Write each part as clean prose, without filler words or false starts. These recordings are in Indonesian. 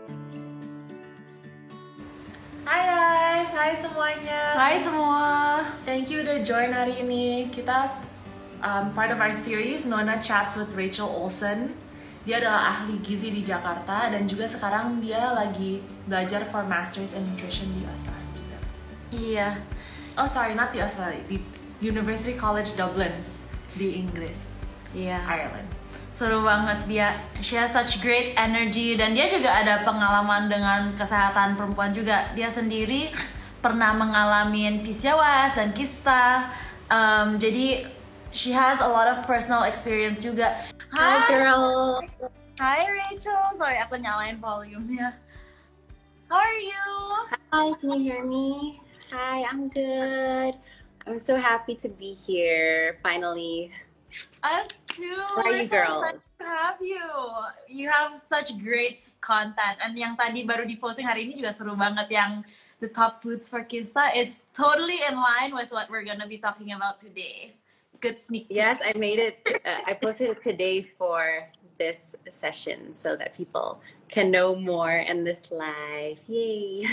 Hai guys, hai semuanya. Hai semua. Thank you udah join hari ini. Kita part of our series Nona Chats with Rachel Olsen. Dia adalah ahli gizi di Jakarta dan juga sekarang dia lagi belajar for Masters in Nutrition di Australia. Iya. Oh sorry, not di Australia, di University College Dublin di Inggris, Iya. Ireland. Seru banget dia. She has such great energy dan dia juga ada pengalaman dengan kesehatan perempuan juga. Dia sendiri pernah mengalami PCOS dan kista. Jadi she has a lot of personal experience juga. Hi girl. Hi Rachel. Sorry aku nyalain volumenya. How are you? Hi, can you hear me? Hi, I'm good. I'm so happy to be here finally. Us too. How are you, We're so girls? excited to have you. You have such great content. And yang tadi baru diposting hari ini juga seru banget yang the top foods for Kista. It's totally in line with what we're gonna be talking about today. Good sneak peek. Yes, I made it. I posted it today for this session so that people can know more in this live. Yay!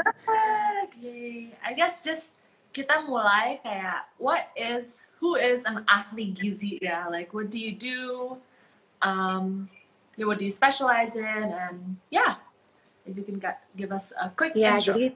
Yay. I guess just kita mulai kayak who is an ahli gizi ya? Like what do you do? What do you specialize in? And yeah, if you can give us a quick Ya, intro. jadi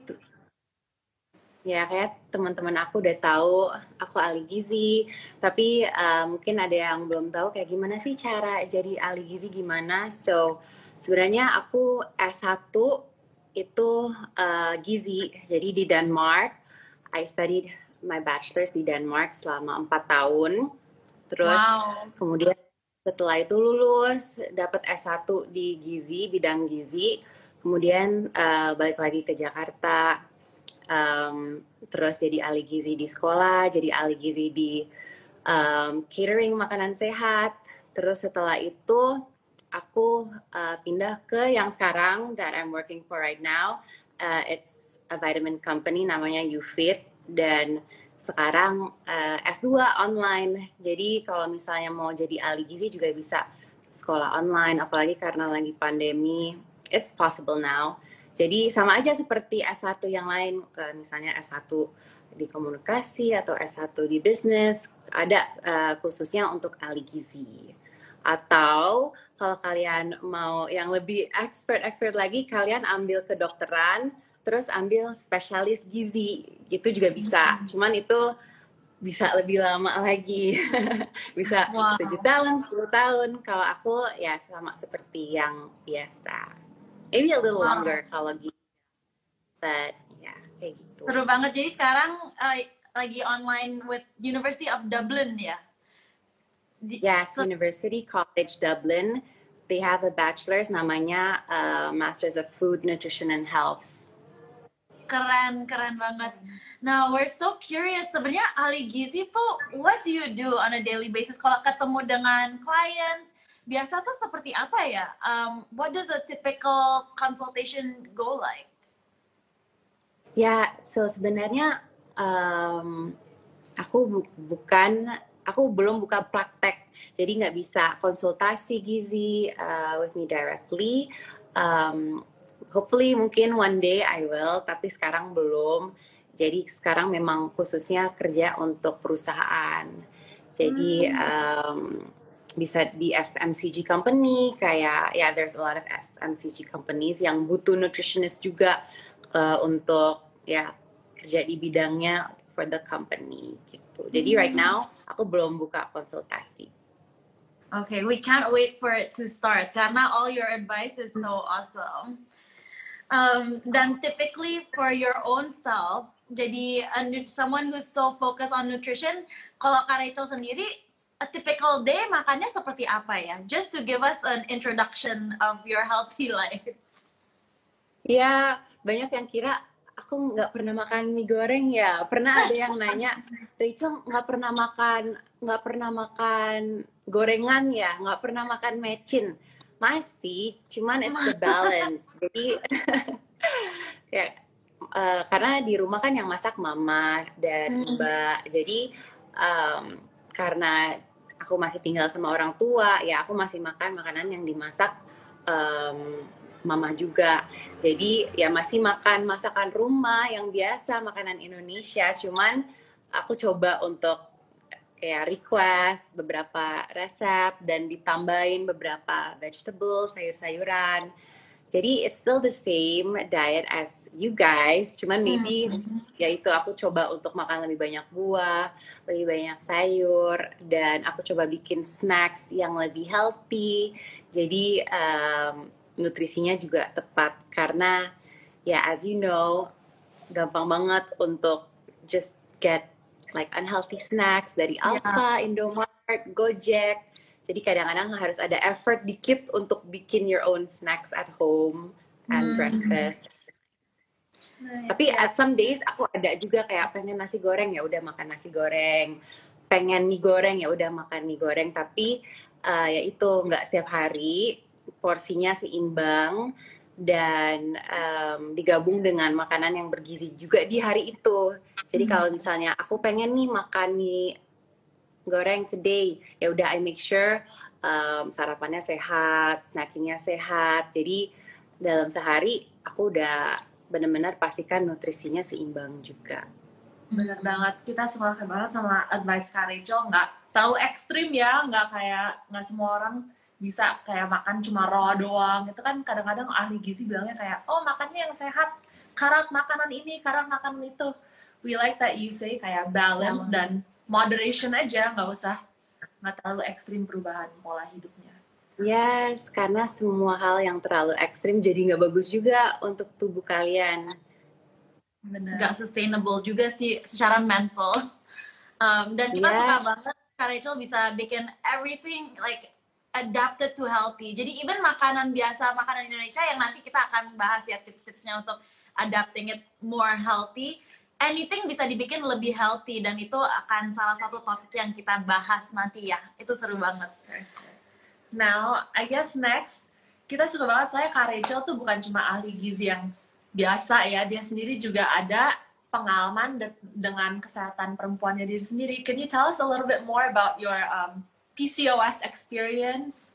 ya kayak teman-teman aku udah tahu aku ahli gizi, tapi mungkin ada yang belum tahu kayak gimana sih cara jadi ahli gizi gimana. So sebenarnya aku S1 itu gizi, jadi di Denmark. I studied my bachelor's di Denmark selama 4 tahun. Terus Wow. kemudian setelah itu lulus dapat S1 di gizi, bidang gizi. Kemudian balik lagi ke Jakarta. Terus jadi ahli gizi di sekolah, jadi ahli gizi di catering makanan sehat. Terus setelah itu aku pindah ke yang sekarang that I'm working for right now. It's a vitamin company namanya YouFit dan sekarang S2 online. Jadi kalau misalnya mau jadi ahli gizi juga bisa sekolah online, apalagi karena lagi pandemi. It's possible now. Jadi sama aja seperti S1 yang lain, misalnya S1 di komunikasi atau S1 di bisnis, ada khususnya untuk ahli gizi. Atau kalau kalian mau yang lebih expert lagi, kalian ambil kedokteran, terus ambil spesialis gizi, gitu juga bisa. Cuman itu bisa lebih lama lagi, bisa 7 tahun, 10 tahun. Kalau aku ya sama seperti yang biasa. Maybe a little longer kalau gitu. But yeah, kayak gitu. Seru banget. Jadi sekarang lagi online with University of Dublin ya? Yes, University College Dublin. They have a bachelor's namanya Masters of Food, Nutrition and Health. Keren banget. Now, we're so curious. Sebenarnya ahli gizi tuh, what do you do on a daily basis? Kalau ketemu dengan clients, biasa tuh seperti apa ya? What does a typical consultation go like? Ya, so sebenarnya aku belum buka praktek, jadi nggak bisa konsultasi gizi with me directly. Hopefully mungkin one day I will, tapi sekarang belum. Jadi sekarang memang khususnya kerja untuk perusahaan. Jadi bisa di FMCG company, kayak ya there's a lot of FMCG companies yang butuh nutritionist juga untuk ya kerja di bidangnya for the company gitu. Jadi right now aku belum buka konsultasi. Okay, we can't wait for it to start karena all your advice is so awesome. Dan typically for your own self, jadi someone who's so focused on nutrition, kalau Kak Rachel sendiri, a typical day makannya seperti apa ya? Just to give us an introduction of your healthy life. Ya, banyak yang kira aku nggak pernah makan mie goreng ya. Pernah ada yang nanya, Rachel nggak pernah makan gorengan ya, nggak pernah makan mecin. Masih, cuman it's the balance. Jadi kayak karena di rumah kan yang masak mama dan mbak. Jadi karena aku masih tinggal sama orang tua, ya aku masih makan makanan yang dimasak mama juga. Jadi ya masih makan masakan rumah yang biasa, makanan Indonesia. Cuman aku coba untuk kayak request beberapa resep dan ditambahin beberapa vegetable, sayur-sayuran. Jadi it's still the same diet as you guys, cuman maybe ya itu aku coba untuk makan lebih banyak buah, lebih banyak sayur, dan aku coba bikin snacks yang lebih healthy. Jadi nutrisinya juga tepat karena ya as you know gampang banget untuk just get like unhealthy snacks dari Alfa, Indomaret, Gojek. Jadi kadang-kadang harus ada effort dikit untuk bikin your own snacks at home and breakfast. Nice, Tapi at some days aku ada juga kayak pengen nasi goreng, ya udah makan nasi goreng. Pengen mie goreng, ya udah makan mie goreng. Tapi ya itu nggak setiap hari, porsinya seimbang dan digabung dengan makanan yang bergizi juga di hari itu. Jadi kalau misalnya aku pengen nih makan mie goreng today, ya udah I make sure sarapannya sehat, snackingnya sehat. Jadi dalam sehari aku udah benar-benar pastikan nutrisinya seimbang juga. Bener banget, kita sepakat banget sama advice Kak Rachel, nggak terlalu ekstrim ya, nggak semua orang bisa kayak makan cuma raw doang. Itu kan kadang-kadang ahli gizi bilangnya kayak, oh makannya yang sehat, karat makanan ini, karat makanan itu. We like that you say kayak balance dan moderation aja, nggak terlalu ekstrim perubahan pola hidupnya. Yes, karena semua hal yang terlalu ekstrim jadi nggak bagus juga untuk tubuh kalian. Bener. Nggak sustainable juga sih secara mental. Dan kita suka banget Kak Rachel bisa bikin everything like adapted to healthy. Jadi even makanan biasa, makanan Indonesia yang nanti kita akan bahas ya tips-tipsnya untuk adapting it more healthy. Anything bisa dibikin lebih healthy dan itu akan salah satu topik yang kita bahas nanti ya. Itu seru banget. Now, I guess next, kita suka banget saya Kak Rachel tuh bukan cuma ahli gizi yang biasa ya, dia sendiri juga ada pengalaman dengan kesehatan perempuannya diri sendiri. Can you tell us a little bit more about your PCOS experience?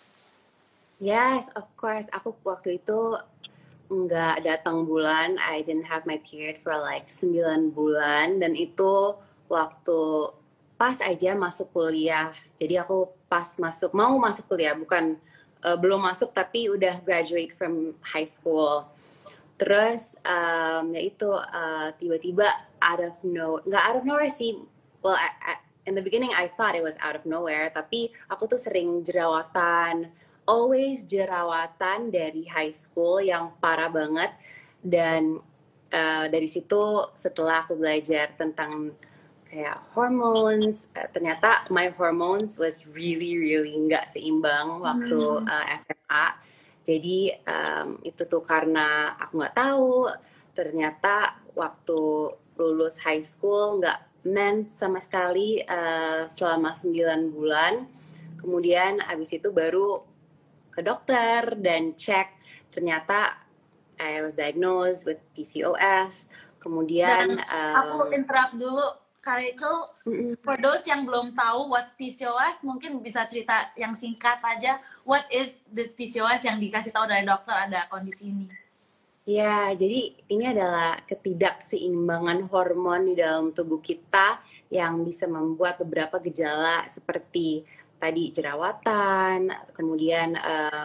Yes, of course. Aku waktu itu nggak datang bulan. I didn't have my period for like 9 bulan. Dan itu waktu pas aja masuk kuliah. Jadi aku pas mau masuk kuliah. Bukan belum masuk tapi udah graduate from high school. Terus ya itu tiba-tiba nggak out of nowhere sih. Well, in the beginning I thought it was out of nowhere, tapi aku tuh sering jerawatan, always jerawatan dari high school yang parah banget. Dan dari situ setelah aku belajar tentang kayak hormones, ternyata my hormones was really nggak seimbang waktu SMA. Jadi itu tuh karena aku nggak tahu, ternyata waktu lulus high school nggak mens sama sekali selama 9 bulan. Kemudian abis itu baru ke dokter dan cek, ternyata I was diagnosed with PCOS. Kemudian aku interrupt dulu Kak Rachel, for those yang belum tahu what's PCOS, mungkin bisa cerita yang singkat aja, what is this PCOS yang dikasih tahu dari dokter ada kondisi ini? Ya, jadi ini adalah ketidakseimbangan hormon di dalam tubuh kita yang bisa membuat beberapa gejala seperti tadi jerawatan, kemudian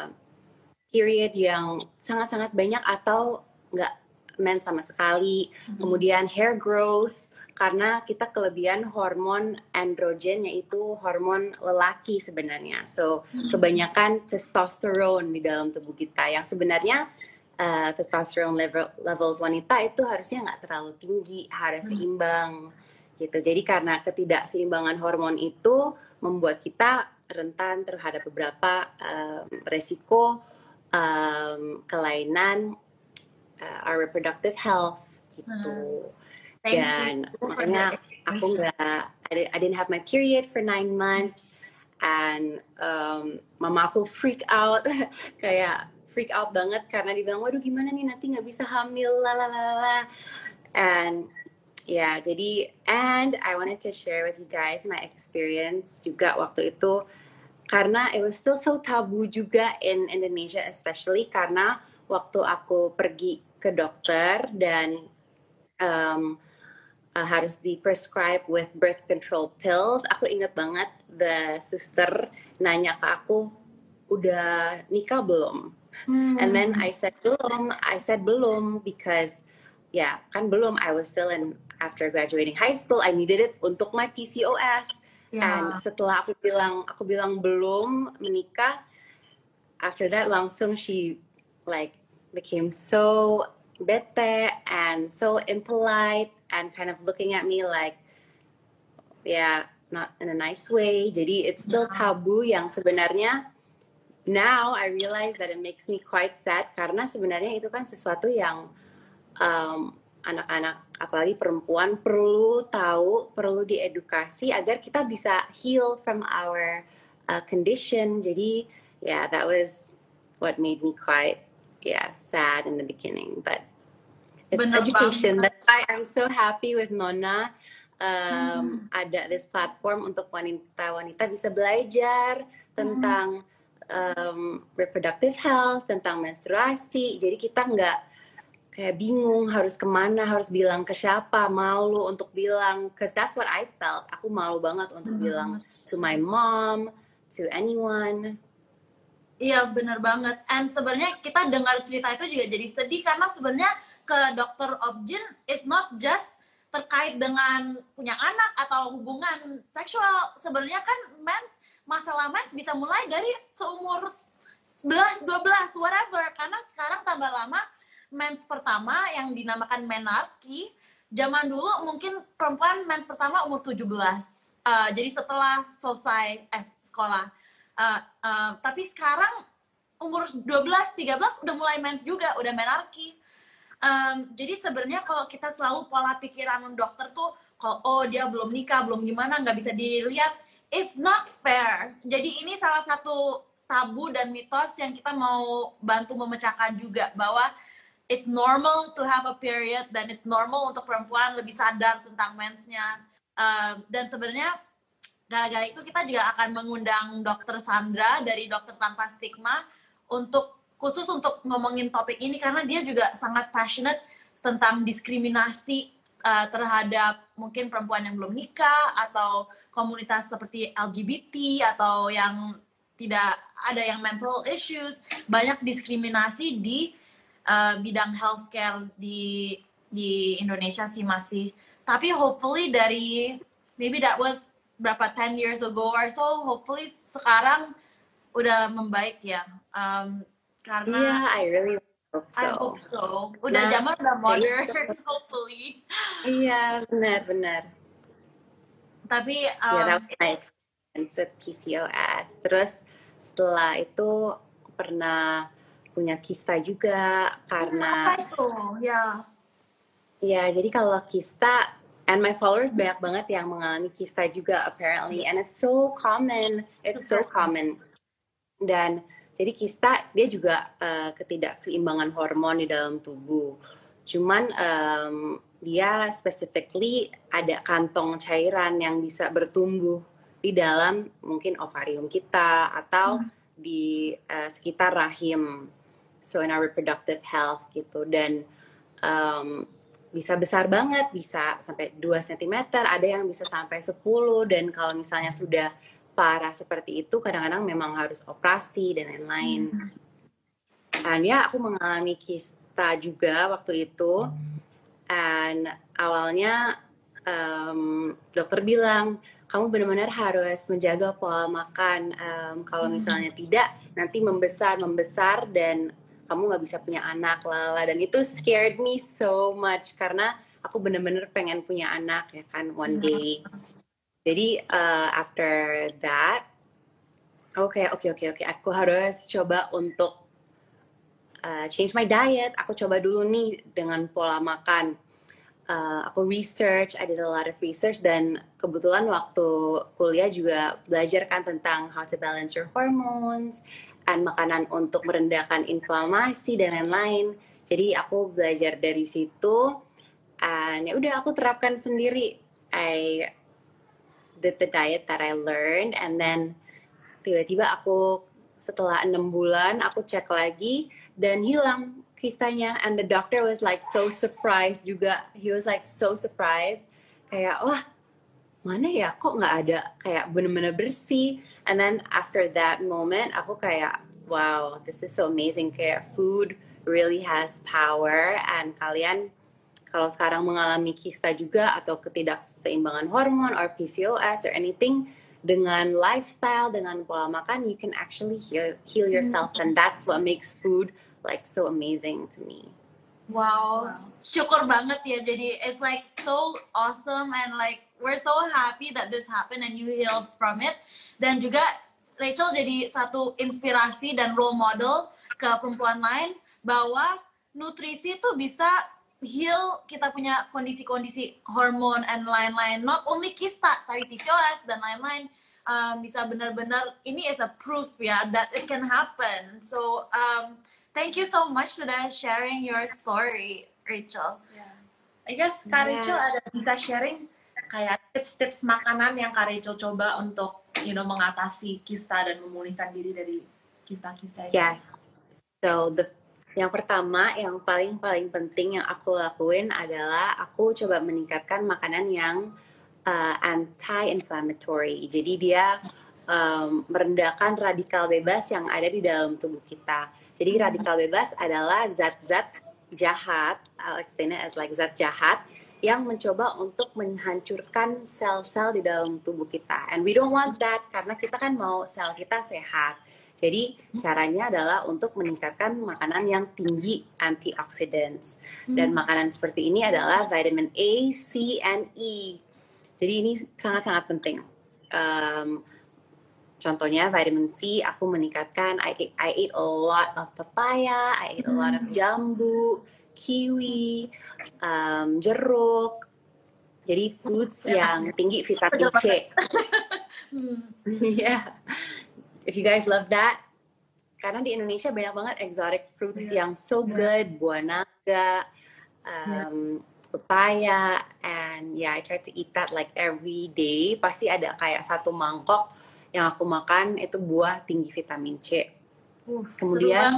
period yang sangat-sangat banyak atau nggak mens sama sekali, kemudian hair growth, karena kita kelebihan hormon androgen, yaitu hormon lelaki sebenarnya. So, kebanyakan testosterone di dalam tubuh kita yang sebenarnya testosterone levels wanita itu harusnya nggak terlalu tinggi, harus seimbang gitu. Jadi karena ketidakseimbangan hormon itu membuat kita rentan terhadap beberapa resiko kelainan our reproductive health gitu. Dan makanya aku I didn't have my period for 9 months and mama aku freak out banget karena dibilang waduh gimana nih nanti nggak bisa hamil lalalala. And ya jadi I wanted to share with you guys my experience juga waktu itu, karena it was still so tabu juga in Indonesia, especially karena waktu aku pergi ke dokter dan harus di prescribe with birth control pills, aku inget banget the suster nanya ke aku, udah nikah belum? And then I said belum because kan belum, I was still in after graduating high school, I needed it untuk my PCOS. And setelah aku bilang belum menikah, after that langsung she like became so bete and so impolite and kind of looking at me like not in a nice way. Jadi it's still tabu yang sebenarnya now I realize that it makes me quite sad karena sebenarnya itu kan sesuatu yang anak-anak apalagi perempuan perlu tahu, perlu diedukasi agar kita bisa heal from our condition. Jadi that was what made me quite sad in the beginning, but it's education. That's why I'm so happy with Nona. Ada this platform untuk wanita-wanita bisa belajar tentang reproductive health, tentang menstruasi. Jadi kita nggak kayak bingung harus kemana, harus bilang ke siapa, malu untuk bilang, cause that's what I felt. Aku malu banget untuk bilang to my mom, to anyone. Iya benar banget. And sebenarnya kita dengar cerita itu juga jadi sedih karena sebenarnya ke dokter Objin is not just terkait dengan punya anak atau hubungan seksual. Sebenarnya kan masalah mens bisa mulai dari seumur 11, 12, whatever. Karena sekarang tambah lama mens pertama yang dinamakan menarki. Zaman dulu mungkin perempuan mens pertama umur 17. Jadi setelah selesai sekolah. Tapi sekarang umur 12, 13 udah mulai mens juga, udah menarki. Jadi sebenarnya kalau kita selalu pola pikiran dokter tuh, kalau dia belum nikah, belum gimana, nggak bisa dilihat, it's not fair. Jadi ini salah satu tabu dan mitos yang kita mau bantu memecahkan juga, bahwa it's normal to have a period dan it's normal untuk perempuan lebih sadar tentang mensnya. Dan sebenarnya gara-gara itu kita juga akan mengundang Dr. Sandra dari Dokter Tanpa Stigma khusus untuk ngomongin topik ini karena dia juga sangat passionate tentang diskriminasi terhadap mungkin perempuan yang belum nikah atau komunitas seperti LGBT atau yang tidak ada yang mental issues. Banyak diskriminasi di bidang healthcare di Indonesia sih masih. Tapi hopefully dari maybe that was berapa 10 years ago or so, hopefully sekarang udah membaik ya. Karena I really hope so. I hope so. Udah zaman udah modern, hopefully. Iya, benar. Tapi that was my experience with PCOS. Terus setelah itu pernah punya kista juga karena apa itu? Ya, jadi kalau kista, and my followers banyak banget yang mengalami kista juga apparently, and it's so common. Dan jadi kista dia juga ketidakseimbangan hormon di dalam tubuh. Cuman dia specifically ada kantong cairan yang bisa bertumbuh di dalam mungkin ovarium kita atau di sekitar rahim. So in our reproductive health gitu. Dan bisa besar banget, bisa sampai 2 cm, ada yang bisa sampai 10, dan kalau misalnya sudah parah seperti itu, kadang-kadang memang harus operasi dan lain-lain. Dan aku mengalami kista juga waktu itu, dan awalnya dokter bilang, kamu benar-benar harus menjaga pola makan, kalau misalnya tidak, nanti membesar, dan kamu nggak bisa punya anak, dan itu scared me so much karena aku bener-bener pengen punya anak ya kan one day. Jadi after that, oke, aku harus coba untuk change my diet. Aku coba dulu nih dengan pola makan. Aku research, I did a lot of research, dan kebetulan waktu kuliah juga belajar kan tentang how to balance your hormones, and makanan untuk merendahkan inflamasi dan lain-lain. Jadi aku belajar dari situ, and ya udah aku terapkan sendiri. I did the diet that I learned, and then tiba-tiba aku setelah 6 bulan aku cek lagi dan hilang kistanya, and the doctor was like so surprised juga. He was like so surprised, kayak wah mana ya kok nggak ada, kayak bener-bener bersih. And then after that moment aku kayak wow, this is so amazing, kayak food really has power. And kalian kalau sekarang mengalami kista juga atau ketidakseimbangan hormon or PCOS or anything, dengan lifestyle, dengan pola makan, you can actually heal yourself. And that's what makes food like so amazing to me. Wow, syukur banget ya. Jadi it's like so awesome and like we're so happy that this happened and you healed from it. Dan juga Rachel jadi satu inspirasi dan role model ke perempuan lain bahwa nutrisi itu bisa heal kita punya kondisi-kondisi hormon and lain-lain. Not only kista, tapi PCOS dan lain-lain. Bisa benar-benar ini is a proof ya that it can happen. So thank you so much sudah sharing your story, Rachel. Yeah. I guess Kak Rachel ada bisa sharing kayak tips-tips makanan yang Kak Rachel coba untuk mengatasi kista dan memulihkan diri dari kista-kista itu. Yes. So yang pertama, yang paling penting yang aku lakuin adalah aku coba meningkatkan makanan yang anti-inflammatory. Jadi dia merendahkan radikal bebas yang ada di dalam tubuh kita. Jadi radikal bebas adalah zat-zat jahat, I'll explain it as like zat jahat, yang mencoba untuk menghancurkan sel-sel di dalam tubuh kita. And we don't want that, karena kita kan mau sel kita sehat. Jadi caranya adalah untuk meningkatkan makanan yang tinggi antioxidants. Dan makanan seperti ini adalah vitamin A, C, and E. Jadi ini sangat-sangat penting. Contohnya vitamin C, aku meningkatkan. I ate a lot of papaya, I ate a lot of jambu, kiwi, jeruk. Jadi foods yang tinggi vitamin C. Yeah. If you guys love that, karena di Indonesia banyak banget exotic fruits yang so good, buah naga, papaya, and yeah, I try to eat that like every day. Pasti ada kayak satu mangkok yang aku makan itu buah tinggi vitamin C. Kemudian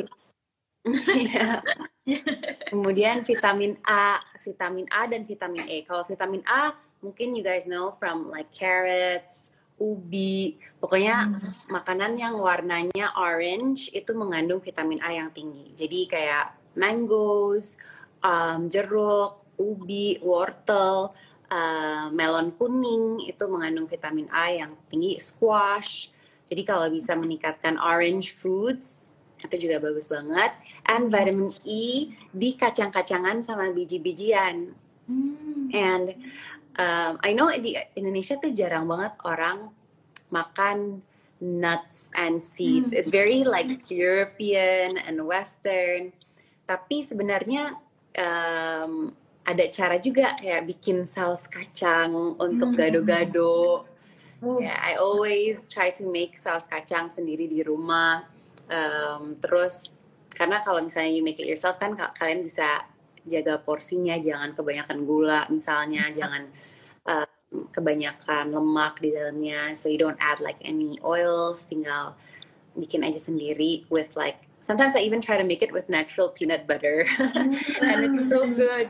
kemudian vitamin A dan vitamin E. Kalau vitamin A mungkin you guys know from like carrots, ubi, pokoknya makanan yang warnanya orange itu mengandung vitamin A yang tinggi. Jadi kayak mangoes, jeruk, ubi, wortel, melon kuning itu mengandung vitamin A yang tinggi, squash. Jadi kalau bisa meningkatkan orange foods itu juga bagus banget. And vitamin E di kacang-kacangan sama biji-bijian. And I know di Indonesia tuh jarang banget orang makan nuts and seeds. It's very like European and Western. Tapi sebenarnya ada cara juga kayak bikin saus kacang untuk gado-gado. Yeah, I always try to make saus kacang sendiri di rumah. Terus karena kalau misalnya you make it yourself kan kalian bisa jaga porsinya, jangan kebanyakan gula misalnya, jangan kebanyakan lemak di dalamnya, so you don't add like any oils, tinggal bikin aja sendiri with like sometimes I even try to make it with natural peanut butter and it's so good.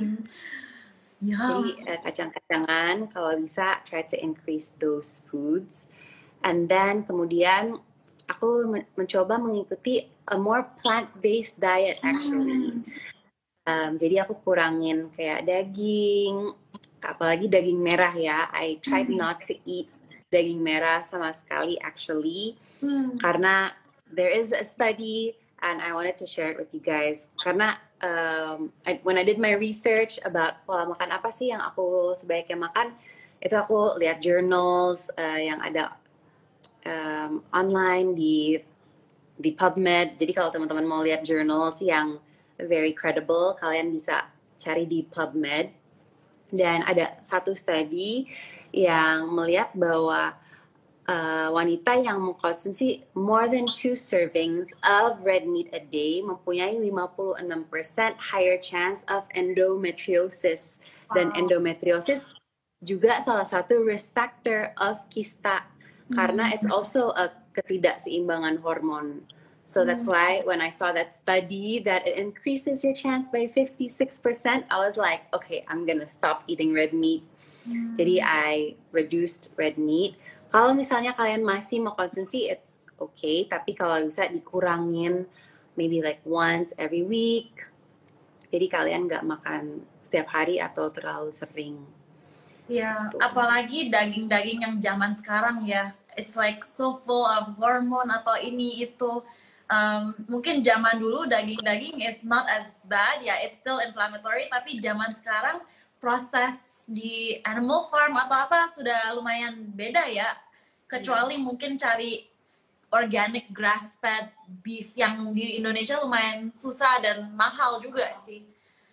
Jadi kacang-kacangan kalau bisa try to increase those foods. And then kemudian aku mencoba mengikuti a more plant-based diet actually. Jadi aku kurangin kayak daging, apalagi daging merah ya. I tried not to eat daging merah sama sekali actually, karena there is a study and I wanted to share it with you guys. Karena when I did my research about pola makan apa sih yang aku sebaiknya makan, itu aku lihat journals yang ada online di PubMed. Jadi kalau teman-teman mau lihat journals yang very credible, kalian bisa cari di PubMed. Dan ada satu study yang melihat bahwa wanita yang mengkonsumsi more than 2 servings of red meat a day mempunyai 56% higher chance of endometriosis. Dan endometriosis juga salah satu risk factor of kista, karena it's also a ketidakseimbangan hormon. So that's why when I saw that study that it increases your chance by 56%, I was like, okay, I'm gonna stop eating red meat. Jadi I reduced red meat. Kalau misalnya kalian masih mau konsumsi, it's okay. Tapi kalau bisa dikurangin, maybe like once every week. Jadi kalian nggak makan setiap hari atau terlalu sering. Ya, apalagi daging-daging yang zaman sekarang ya, it's like so full of hormone atau ini itu. Mungkin zaman dulu daging-daging is not as bad, ya, it's still inflammatory. Tapi zaman sekarang proses di animal farm atau apa sudah lumayan beda ya. Kecuali mungkin cari organic grass-fed beef yang di Indonesia lumayan susah dan mahal juga sih.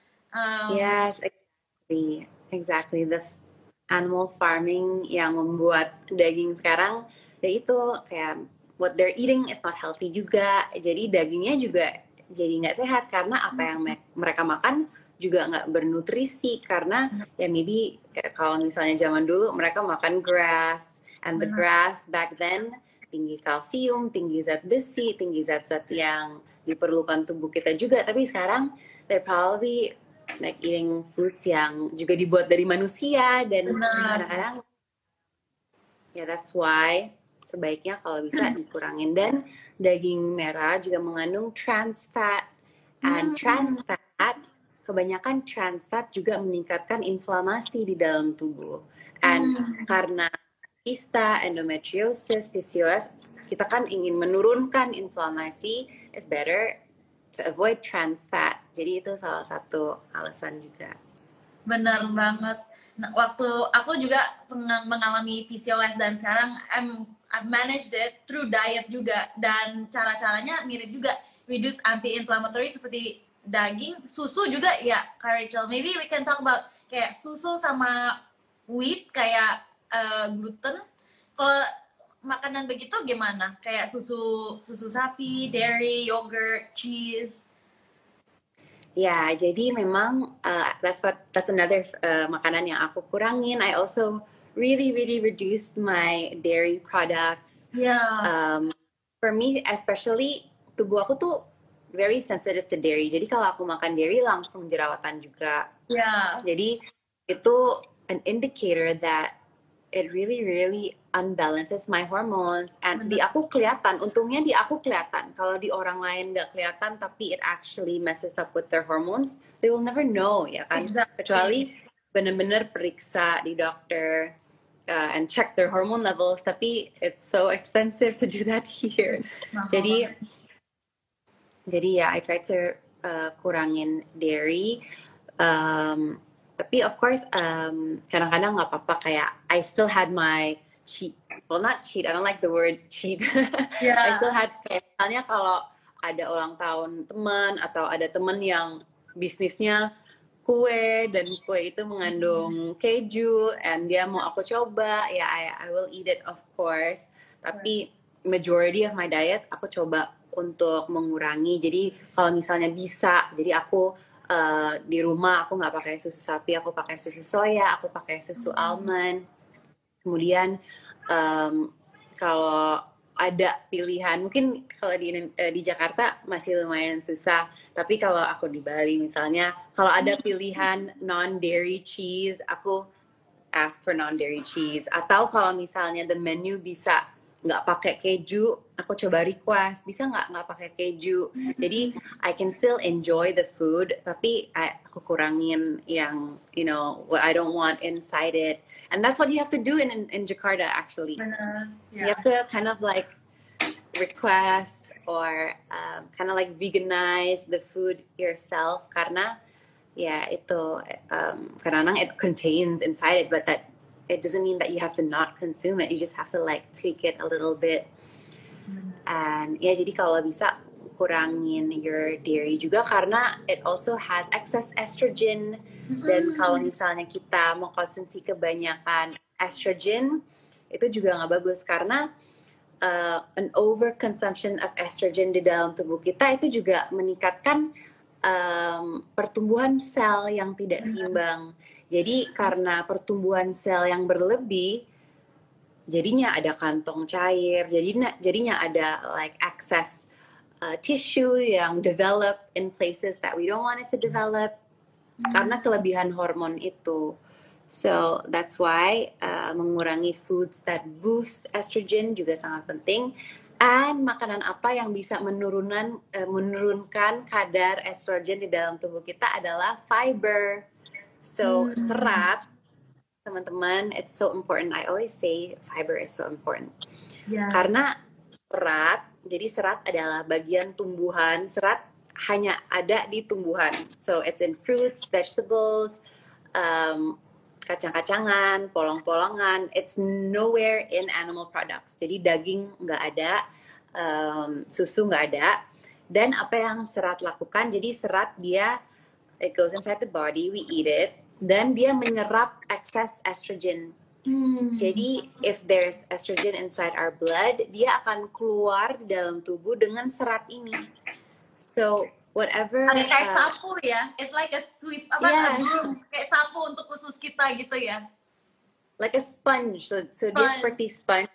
Yes, exactly. The animal farming yang membuat daging sekarang, ya itu kayak what they're eating is not healthy juga. Jadi dagingnya juga jadi nggak sehat karena apa yang mereka makan juga nggak bernutrisi karena ya maybe kalau misalnya zaman dulu mereka makan grass and the grass back then tinggi kalsium, tinggi zat besi, tinggi zat-zat yang diperlukan tubuh kita juga. Tapi sekarang they're probably like eating foods yang juga dibuat dari manusia dan kadang-kadang ya that's why sebaiknya kalau bisa dikurangin. Dan daging merah juga mengandung trans fat and trans fat, kebanyakan trans fat juga meningkatkan inflamasi di dalam tubuh. And karena kista, endometriosis, PCOS, kita kan ingin menurunkan inflamasi, it's better to avoid trans fat. Jadi itu salah satu alasan juga. Bener banget. Nah, waktu aku juga mengalami PCOS dan sekarang I've managed it through diet juga, dan cara-caranya mirip juga, reduce anti-inflammatory seperti daging, susu juga ya, Kak Rachel. Maybe we can talk about kayak susu sama wheat kayak gluten. Kalau makanan begitu gimana? Kayak susu sapi, dairy, yogurt, cheese. Ya, jadi memang that's another makanan yang aku kurangin. I also really reduced my dairy products. Yeah. For me, especially tubuh aku tuh very sensitive to dairy. Jadi kalau aku makan dairy langsung jerawatan juga. Yeah. Jadi itu an indicator that it really unbalances my hormones. And di aku kelihatan, untungnya di aku kelihatan. Kalau di orang lain nggak kelihatan, tapi it actually messes up with their hormones, they will never know, ya kan? Exactly. Kecuali benar-benar periksa di dokter and check their hormone levels. Tapi it's so expensive to do that here. Jadi ya, I try to kurangin dairy. Tapi of course kadang-kadang nggak apa-apa, kayak I still had my cheat, well not cheat, I don't like the word cheat. Yeah. I still had kayak misalnya kalau ada ulang tahun teman atau ada teman yang bisnisnya kue dan kue itu mengandung keju and dia mau aku coba, ya I will eat it of course. Tapi majority of my diet aku coba untuk mengurangi. Jadi kalau misalnya bisa, jadi aku di rumah aku nggak pakai susu sapi, aku pakai susu soya, aku pakai susu almond. Kemudian kalau ada pilihan, mungkin kalau di Jakarta masih lumayan susah, tapi kalau aku di Bali misalnya, kalau ada pilihan non-dairy cheese, aku ask for non-dairy cheese. Atau kalau misalnya the menu bisa nggak pakai keju, aku coba request, bisa nggak pakai keju. Jadi I can still enjoy the food, tapi aku kurangin yang what I don't want inside it. And that's what you have to do in Jakarta actually. Yeah. You have to kind of like request or kind of like veganize the food yourself, karena ya itu kadang-kadang it contains inside it, but that it doesn't mean that you have to not consume it. You just have to like tweak it a little bit. And ya jadi kalau bisa kurangin your dairy juga, karena it also has excess estrogen. Dan kalau misalnya kita mau konsumsi kebanyakan estrogen, itu juga nggak bagus, karena an overconsumption of estrogen di dalam tubuh kita itu juga meningkatkan pertumbuhan sel yang tidak seimbang. Jadi karena pertumbuhan sel yang berlebih, jadinya ada kantong cair, jadinya ada like excess tissue yang develop in places that we don't want it to develop karena kelebihan hormon itu. So that's why mengurangi foods that boost estrogen juga sangat penting. And makanan apa yang bisa menurunkan kadar estrogen di dalam tubuh kita adalah fiber. So serat, teman-teman, it's so important. I always say fiber is so important. Karena serat, jadi serat adalah bagian tumbuhan. Serat hanya ada di tumbuhan. So it's in fruits, vegetables, kacang-kacangan, polong-polongan. It's nowhere in animal products. Jadi daging nggak ada, susu nggak ada. Dan apa yang serat lakukan? Jadi serat dia, it goes inside the body, we eat it, dan dia menyerap excess estrogen. Jadi if there's estrogen inside our blood, dia akan keluar dalam tubuh dengan serat ini. So whatever. Kayak sapu ya, it's like a sweep, a broom, kayak sapu untuk usus kita gitu ya. Like a sponge. So dia seperti sponge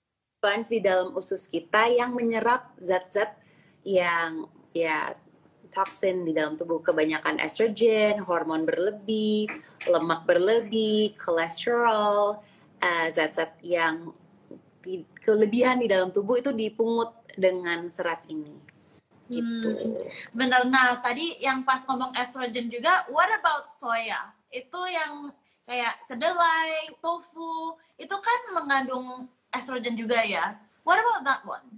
di dalam usus kita yang menyerap zat-zat yang toksin di dalam tubuh, kebanyakan estrogen, hormon berlebih, lemak berlebih, kolesterol, zat-zat yang kelebihan di dalam tubuh itu dipungut dengan serat ini. Gitu. Bener. Nah, tadi yang pas ngomong estrogen juga, what about soya? Itu yang kayak kedelai, tofu, itu kan mengandung estrogen juga ya. What about that one?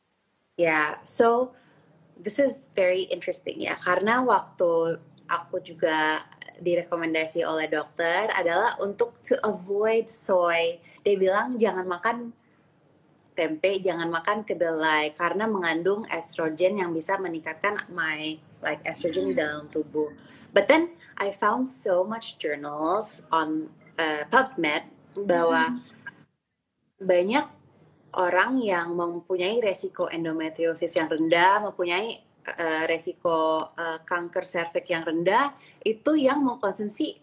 Yeah, so this is very interesting ya, karena waktu aku juga direkomendasi oleh dokter adalah untuk to avoid soy. Dia bilang jangan makan tempe, jangan makan kedelai karena mengandung estrogen yang bisa meningkatkan estrogen di dalam tubuh. But then I found so much journals on PubMed bahwa banyak orang yang mempunyai resiko endometriosis yang rendah, mempunyai resiko kanker serviks yang rendah, itu yang mengkonsumsi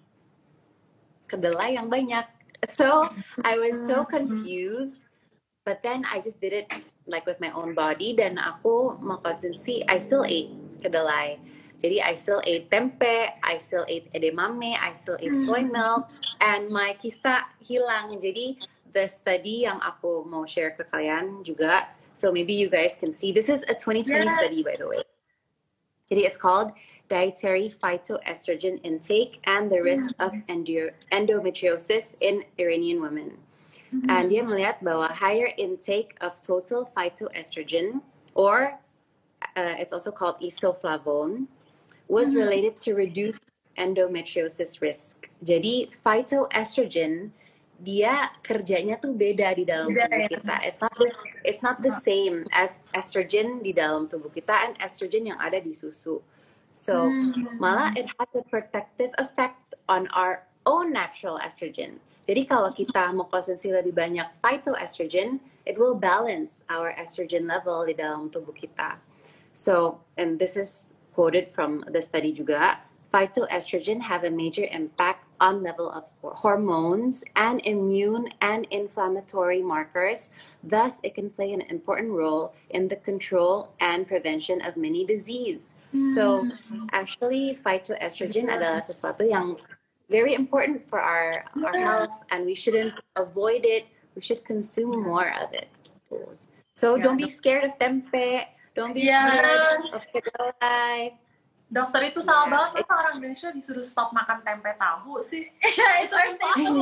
kedelai yang banyak. So I was so confused, but then I just did it like with my own body, dan aku mengkonsumsi, I still ate kedelai. Jadi I still ate tempe, I still ate edamame, I still ate soy milk, and my kista hilang. Jadi the study yang aku mau share ke kalian juga, so maybe you guys can see. This is a 2020 study, by the way. Jadi it's called Dietary Phytoestrogen Intake and the Risk of Endometriosis in Iranian Women. And dia melihat bahwa higher intake of total phytoestrogen, or it's also called isoflavone, was related to reduced endometriosis risk. Jadi phytoestrogen dia kerjanya tuh beda di dalam tubuh kita. It's not the same as estrogen di dalam tubuh kita and estrogen yang ada di susu. So malah it has a protective effect on our own natural estrogen. Jadi kalau kita mau konsumsi lebih banyak phytoestrogen, it will balance our estrogen level di dalam tubuh kita. So, and this is quoted from the study juga, phytoestrogen have a major impact on level of hormones and immune and inflammatory markers. Thus, it can play an important role in the control and prevention of many disease. So, actually, phytoestrogen adalah sesuatu yang very important for our health, and we shouldn't avoid it. We should consume more of it. So, don't be scared of tempe. Don't be scared of kedelai. Dokter itu salah banget, masa orang Indonesia disuruh stop makan tempe tahu sih? It's our staple.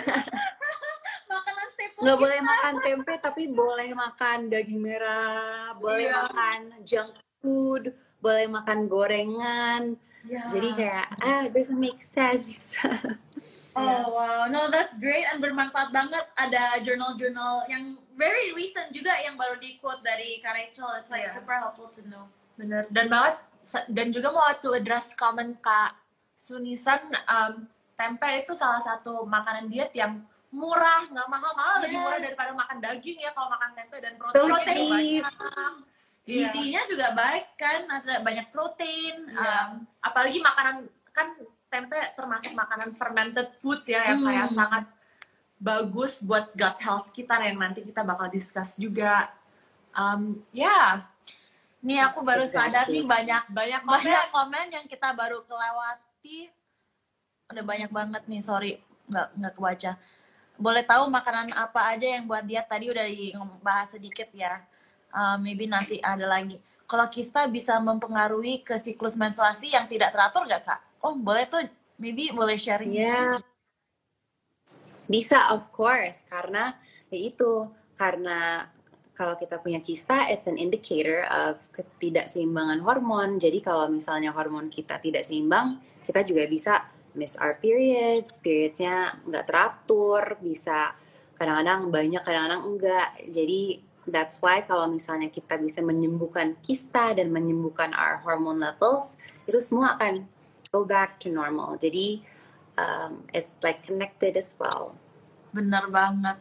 Makanan staple. Nggak boleh makan tempe, tapi boleh makan daging merah, boleh makan junk food, boleh makan gorengan. Jadi kayak, doesn't make sense. Oh wow, no, that's great and bermanfaat banget. Ada jurnal-jurnal yang very recent juga yang baru di quote dari Kak Rachel. It's like super helpful to know. Bener, dan juga mau to address comment Kak Sunisan, tempe itu salah satu makanan diet yang murah, nggak mahal-mahal, lebih murah daripada makan daging ya kalau makan tempe, dan protein banyak. Gizinya juga baik kan, ada banyak protein. Apalagi makanan, kan tempe termasuk makanan fermented foods ya, yang kayak sangat bagus buat gut health kita yang nanti kita bakal discuss juga. Nih aku baru sadar nih banyak Banyak komen yang kita baru kelewati. Udah banyak banget nih, sorry nggak kebaca. Boleh tahu makanan apa aja yang buat diet? Tadi udah dibahas sedikit ya. Maybe nanti ada lagi. Kalau kista bisa mempengaruhi ke siklus menstruasi yang tidak teratur nggak Kak? Oh boleh tuh, maybe boleh sharing. Ya, bisa of course, karena ya itu, karena kalau kita punya kista, it's an indicator of ketidakseimbangan hormon. Jadi kalau misalnya hormon kita tidak seimbang, kita juga bisa miss our periodsnya nggak teratur, bisa kadang-kadang banyak, kadang-kadang enggak. Jadi that's why kalau misalnya kita bisa menyembuhkan kista dan menyembuhkan our hormone levels, itu semua akan go back to normal. Jadi it's like connected as well. Bener banget.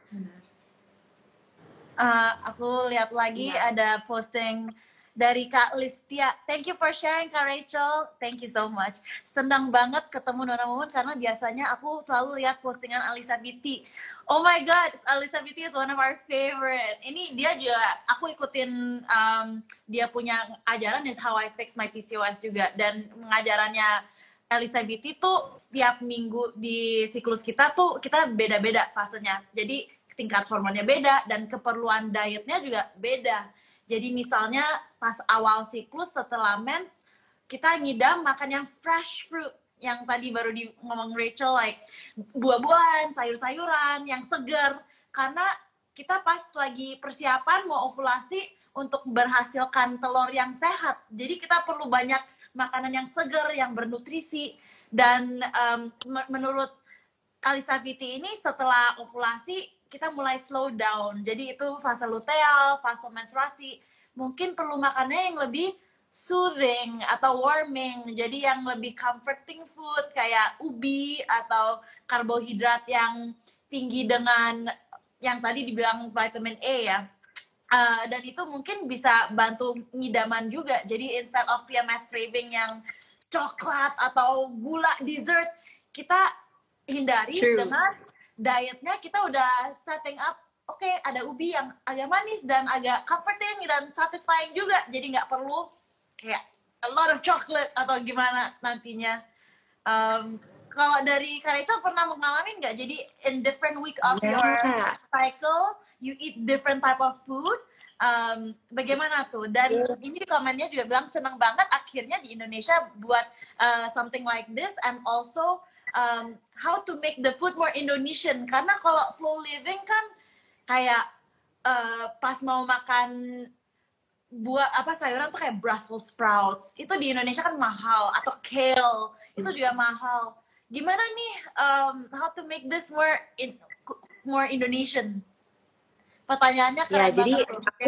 Aku lihat lagi ada posting dari Kak Listia. Thank you for sharing Kak Rachel. Thank you so much. Senang banget ketemu Nona Momen karena biasanya aku selalu lihat postingan Alisa Biti. Oh my god, Alisa Biti is one of our favorite. Ini dia juga, aku ikutin dia punya ajaran is How I Fix My PCOS juga. Dan pengajarannya Alisa Biti tuh setiap minggu di siklus kita tuh kita beda-beda fasenya. Jadi tingkat hormonnya beda dan keperluan dietnya juga beda. Jadi misalnya pas awal siklus setelah mens kita ngidam makan yang fresh fruit yang tadi baru ngomong Rachel, like buah-buahan, sayur-sayuran yang segar, karena kita pas lagi persiapan mau ovulasi untuk berhasilkan telur yang sehat. Jadi kita perlu banyak makanan yang segar, yang bernutrisi. Dan menurut Alisa Biti ini setelah ovulasi kita mulai slow down. Jadi itu fase luteal, fase menstruasi. Mungkin perlu makannya yang lebih soothing atau warming. Jadi yang lebih comforting food kayak ubi atau karbohidrat yang tinggi dengan yang tadi dibilang vitamin A ya. Dan itu mungkin bisa bantu ngidaman juga. Jadi instead of PMS craving yang coklat atau gula dessert, kita hindari dengan dietnya kita udah setting up, oke, ada ubi yang agak manis dan agak comforting dan satisfying juga, jadi nggak perlu kayak a lot of chocolate atau gimana nantinya. Kalau dari Kak Rachel pernah mengalami nggak, jadi in different week of your cycle you eat different type of food, bagaimana tuh? Dan ini di komennya juga bilang senang banget akhirnya di Indonesia buat something like this, and also how to make the food more Indonesian, karena kalau flow living kan kayak pas mau makan buah sayuran tuh kayak Brussels sprouts itu di Indonesia kan mahal, atau kale itu juga mahal. Gimana nih how to make this more Indonesian? Pertanyaannya ya, jadi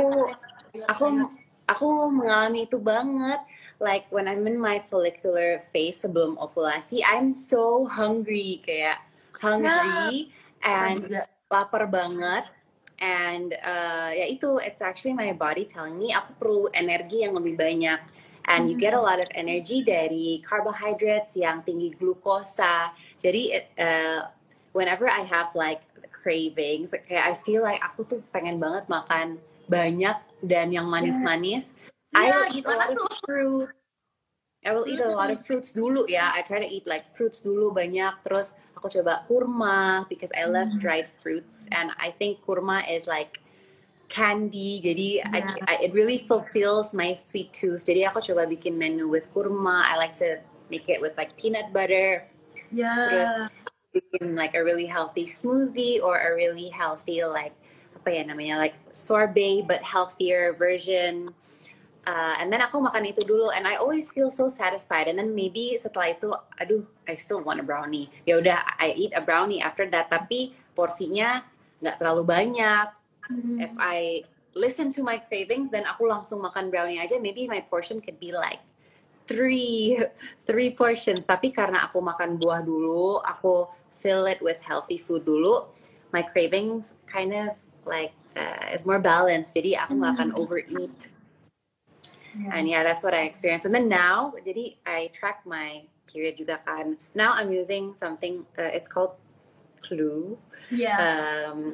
aku mengalami itu banget. Like when I'm in my follicular phase sebelum ovulasi, I'm so hungry, kayak hungry and lapar banget. And ya itu, it's actually my body telling me aku perlu energi yang lebih banyak. And you get a lot of energy dari carbohydrates yang tinggi glukosa. Jadi whenever I have like cravings, kayak I feel like aku tuh pengen banget makan banyak dan yang manis-manis. I will eat a lot of fruit. I will eat a lot of fruits dulu ya. I try to eat like fruits dulu banyak. Terus aku coba kurma because I love dried fruits, and I think kurma is like candy. Jadi it really fulfills my sweet tooth. Jadi aku coba bikin menu with kurma. I like to make it with like peanut butter. Terus bikin like a really healthy smoothie or a really healthy like apa ya namanya, like sorbet but healthier version. And then aku makan itu dulu, and I always feel so satisfied. And then maybe setelah itu, aduh, I still want a brownie. Ya udah, I eat a brownie after that. Tapi porsinya nggak terlalu banyak. If I listen to my cravings, then aku langsung makan brownie aja. Maybe my portion could be like three portions. Tapi karena aku makan buah dulu, aku fill it with healthy food dulu, my cravings kind of like is more balanced. Jadi aku nggak akan overeat. And yeah, that's what I experienced. And then now, jadi I track my period juga kan. Now I'm using something, it's called Clue.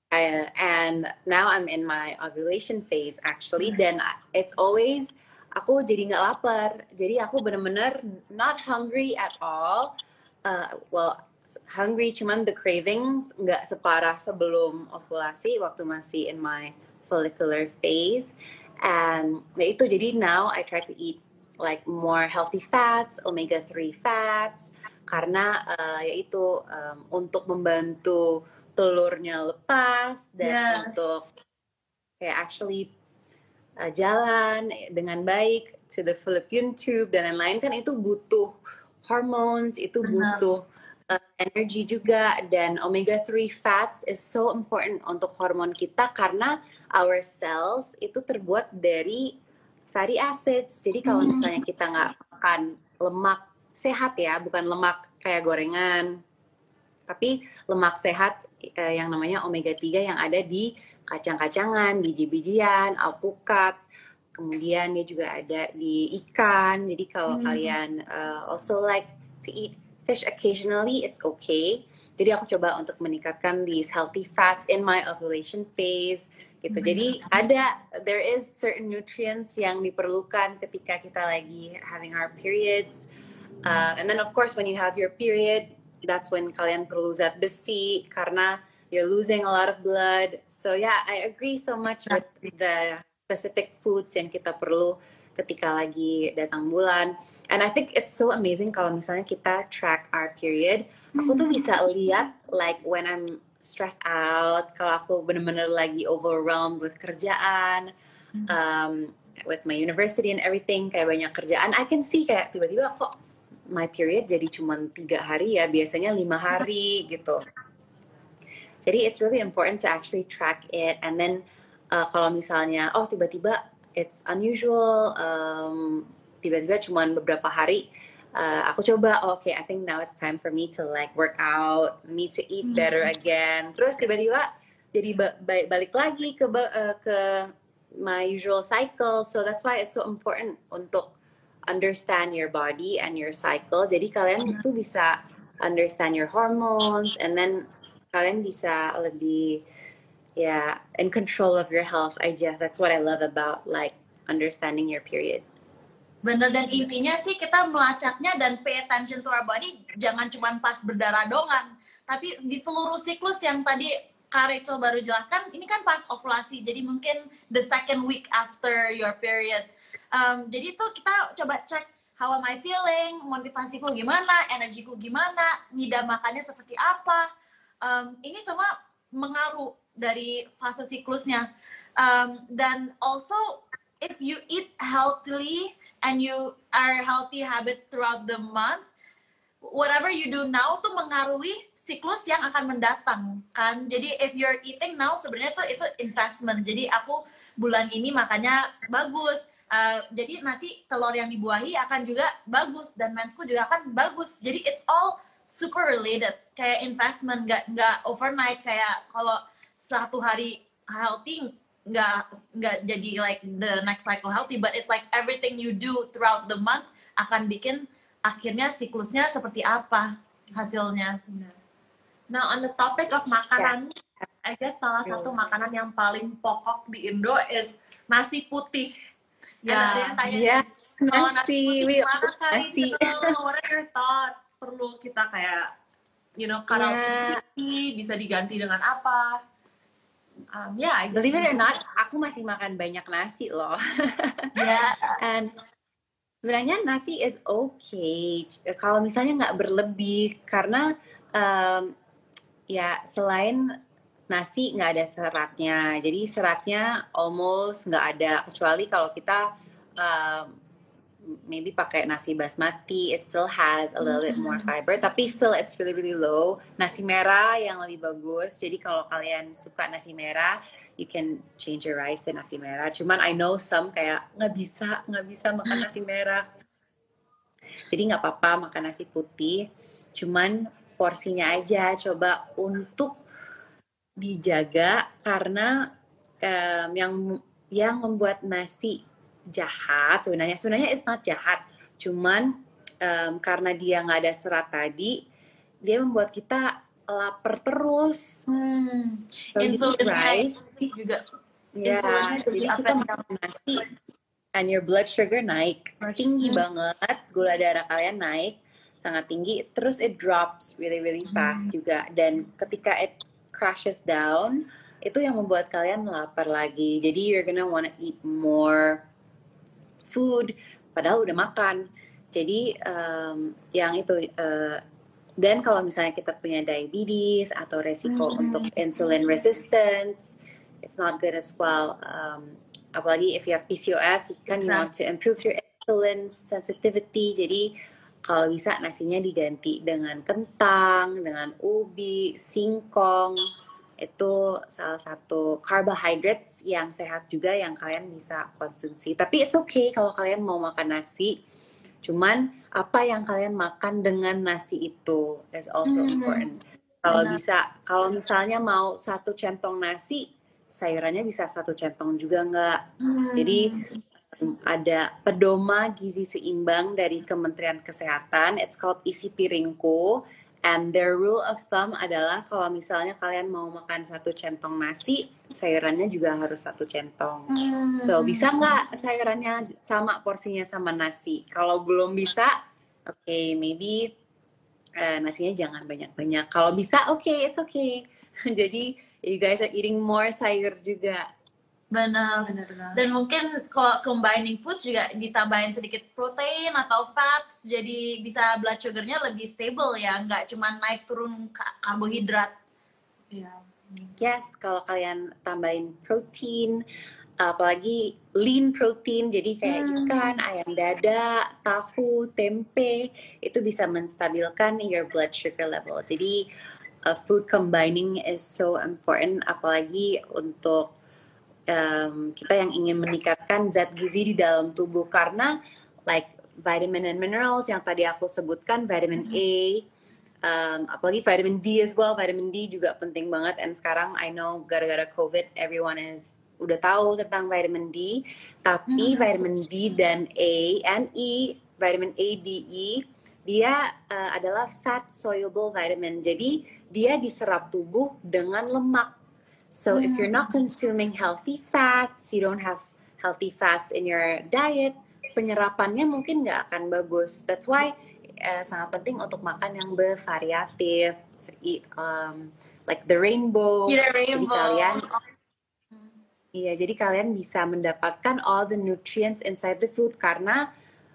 And now I'm in my ovulation phase actually, dan it's always aku jadi nggak lapar, jadi aku bener-bener not hungry at all. Well, hungry, cuman the cravings nggak separah sebelum ovulasi waktu masih in my follicular phase. And itu jadi now I try to eat like more healthy fats, omega-3 fats, karena yaitu untuk membantu telurnya lepas dan untuk kayak actually jalan dengan baik to the fallopian tube dan lain-lain, kan itu butuh hormones, itu butuh energy juga, dan omega-3 fats is so important untuk hormon kita karena our cells itu terbuat dari fatty acids. Jadi kalau misalnya kita nggak makan lemak sehat ya, bukan lemak kayak gorengan, tapi lemak sehat yang namanya omega-3 yang ada di kacang-kacangan, biji-bijian, alpukat, kemudian dia juga ada di ikan. Jadi kalau kalian also like to eat fish occasionally, it's okay. Jadi aku coba untuk meningkatkan these healthy fats in my ovulation phase gitu. Jadi there is certain nutrients yang diperlukan ketika kita lagi having our periods. And then of course when you have your period, that's when kalian perlu zat besi karena you're losing a lot of blood. So yeah, I agree so much with the specific foods yang kita perlu ketika lagi datang bulan. And I think it's so amazing kalau misalnya kita track our period. Aku tuh bisa lihat like when I'm stressed out, kalau aku bener-bener lagi overwhelmed with kerjaan, with my university and everything, kayak banyak kerjaan, I can see kayak tiba-tiba kok my period jadi cuma 3 hari ya, biasanya 5 hari gitu. Jadi it's really important to actually track it. And then kalau misalnya tiba-tiba it's unusual, tiba-tiba cuma beberapa hari, aku coba okay, I think now it's time for me to like work out, me to eat better again. Terus tiba-tiba jadi balik lagi ke my usual cycle. So that's why it's so important untuk understand your body and your cycle. Jadi kalian tuh bisa understand your hormones, and then kalian bisa lebih in control of your health aja. That's what I love about like understanding your period. Bener, dan intinya sih kita melacaknya dan pay attention to our body jangan cuma pas berdarah doang, tapi di seluruh siklus yang tadi Kak Rachel baru jelaskan. Ini kan pas ovulasi, jadi mungkin the second week after your period. Jadi tuh kita coba cek how am I feeling, motivasiku gimana, energiku gimana, ngidam makannya seperti apa. Ini semua mengaruh dari fase siklusnya. Dan also if you eat healthily and you are healthy habits throughout the month, whatever you do now tuh mengaruhi siklus yang akan mendatang kan. Jadi if you're eating now, sebenarnya tuh itu investment. Jadi aku bulan ini makannya bagus, jadi nanti telur yang dibuahi akan juga bagus dan mensku juga akan bagus. Jadi it's all super related, kayak investment, nggak overnight. Kayak kalau 1 hari healthy nggak jadi like the next cycle healthy, but it's like everything you do throughout the month akan bikin akhirnya siklusnya seperti apa hasilnya. Now on the topic of makanan, I guess salah satu makanan yang paling pokok di Indo is nasi putih. Ada yang tanya nasi putih gimana kan? What are your thoughts? Perlu kita kayak cut out putih, bisa diganti dengan apa? I guess believe it or not, aku masih makan banyak nasi loh. And sebenarnya nasi is okay kalau misalnya nggak berlebih, karena selain nasi nggak ada seratnya, jadi seratnya almost nggak ada, kecuali kalau kita maybe pakai nasi basmati, it still has a little bit more fiber, tapi still it's really really low. Nasi merah yang lebih bagus, jadi kalau kalian suka nasi merah, you can change your rice to nasi merah. Cuman I know some kayak nggak bisa makan nasi merah, jadi nggak apa-apa makan nasi putih, cuman porsinya aja coba untuk dijaga, karena yang membuat nasi jahat sebenarnya it's not jahat, cuman karena dia nggak ada serat tadi, dia membuat kita lapar terus. So you eat Insulinnya rice, juga. ya, Insulinnya jadi jadi kita up and makan nasi, and your blood sugar naik, tinggi banget, gula darah kalian naik, sangat tinggi, terus it drops really really fast juga, dan ketika it crashes down, itu yang membuat kalian lapar lagi, jadi you're gonna wanna eat more food, padahal udah makan. Jadi yang itu, dan kalau misalnya kita punya diabetes atau resiko untuk insulin resistance, it's not good as well. Apalagi if you have PCOS, kan you want to improve your insulin sensitivity. Jadi kalau bisa nasinya diganti dengan kentang, dengan ubi, singkong. Itu salah satu carbohydrates yang sehat juga yang kalian bisa konsumsi. Tapi it's okay kalau kalian mau makan nasi. Cuman apa yang kalian makan dengan nasi itu is also important. Kalau bisa, kalau misalnya mau 1 centong nasi, sayurannya bisa 1 centong juga enggak. Jadi ada pedoma gizi seimbang dari Kementerian Kesehatan. It's called Isi Piringku. And their rule of thumb adalah kalau misalnya kalian mau makan 1 centong nasi, sayurannya juga harus 1 centong. So bisa nggak sayurannya sama porsinya sama nasi? Kalau belum bisa, okay, maybe nasinya jangan banyak-banyak. Kalau bisa, okay, it's okay. Jadi you guys are eating more sayur juga. Benar. Dan mungkin kalau combining foods juga ditambahin sedikit protein atau fats, jadi bisa blood sugar-nya lebih stable ya, nggak cuma naik turun karbohidrat. Yes, kalau kalian tambahin protein, apalagi lean protein, jadi kayak ikan, ayam dada, tahu, tempe, itu bisa menstabilkan your blood sugar level. Jadi food combining is so important, apalagi untuk kita yang ingin meningkatkan zat gizi di dalam tubuh, karena like vitamin and minerals yang tadi aku sebutkan, vitamin A, apalagi vitamin D as well. Vitamin D juga penting banget, and sekarang I know gara-gara COVID everyone is udah tahu tentang vitamin D, tapi vitamin D dan A and E, vitamin A, D, E, dia adalah fat soluble vitamin, jadi dia diserap tubuh dengan lemak. So if you're not consuming healthy fats, you don't have healthy fats in your diet, penyerapannya mungkin nggak akan bagus. That's why sangat penting untuk makan yang bervariatif, eat like the rainbow. Jadi kalian, iya, jadi kalian bisa mendapatkan all the nutrients inside the food, karena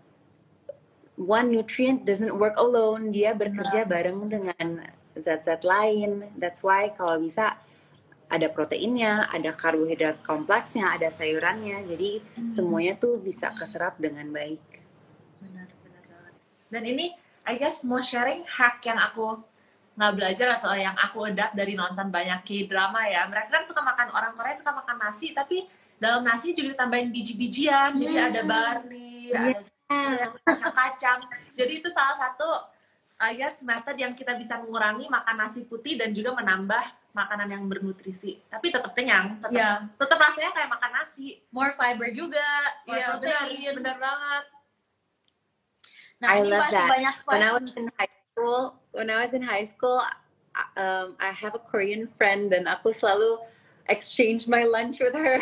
one nutrient doesn't work alone, dia bekerja bareng dengan zat-zat lain. That's why kalau bisa ada proteinnya, ada karbohidrat kompleksnya, ada sayurannya, jadi semuanya tuh bisa keserap dengan baik. Benar banget. Dan ini, I guess mau sharing hack yang aku nggak belajar atau yang aku adapt dari nonton banyak K-drama ya. Mereka kan suka makan, orang Korea suka makan nasi, tapi dalam nasi juga ditambahin biji-bijian, jadi ada barley, ada kacang-kacang. Jadi itu salah satu, I guess, method yang kita bisa mengurangi makan nasi putih dan juga menambah makanan yang bernutrisi, tapi tetap kenyang, tetap rasanya kayak makan nasi. More fiber juga, more protein. Benar banget. Nah, I ini love masih that. banyak When I was in high school, I have a Korean friend dan aku selalu exchange my lunch with her.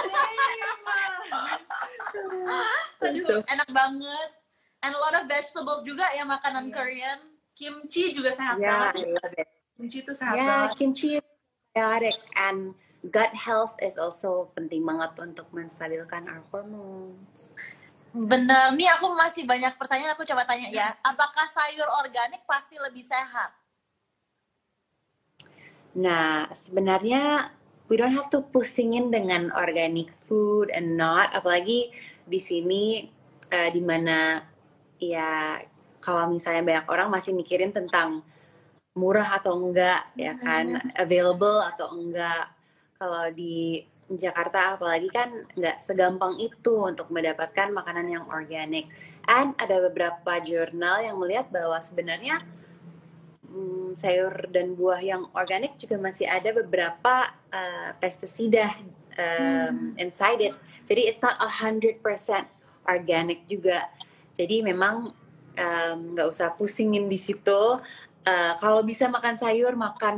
So, enak banget. And a lot of vegetables juga ya, makanan Korean. Kimchi juga sehat Yeah, banget. I love it. Kimchi itu sehat Yeah, banget. kimchi is probiotic, and gut health is also penting banget untuk menstabilkan our hormones. Bener, nih aku masih banyak pertanyaan, aku coba tanya ya. Apakah sayur organik pasti lebih sehat? Nah, sebenarnya we don't have to pusingin dengan organic food and not, apalagi di sini di mana ya kalau misalnya banyak orang masih mikirin tentang murah atau enggak, ya kan, available atau enggak. Kalau di Jakarta apalagi kan nggak segampang itu untuk mendapatkan makanan yang organik. And ada beberapa jurnal yang melihat bahwa sebenarnya sayur dan buah yang organik juga masih ada beberapa pestisida inside it. Jadi it's not 100% organic juga. Jadi memang nggak usah pusingin di situ. kalau bisa makan sayur,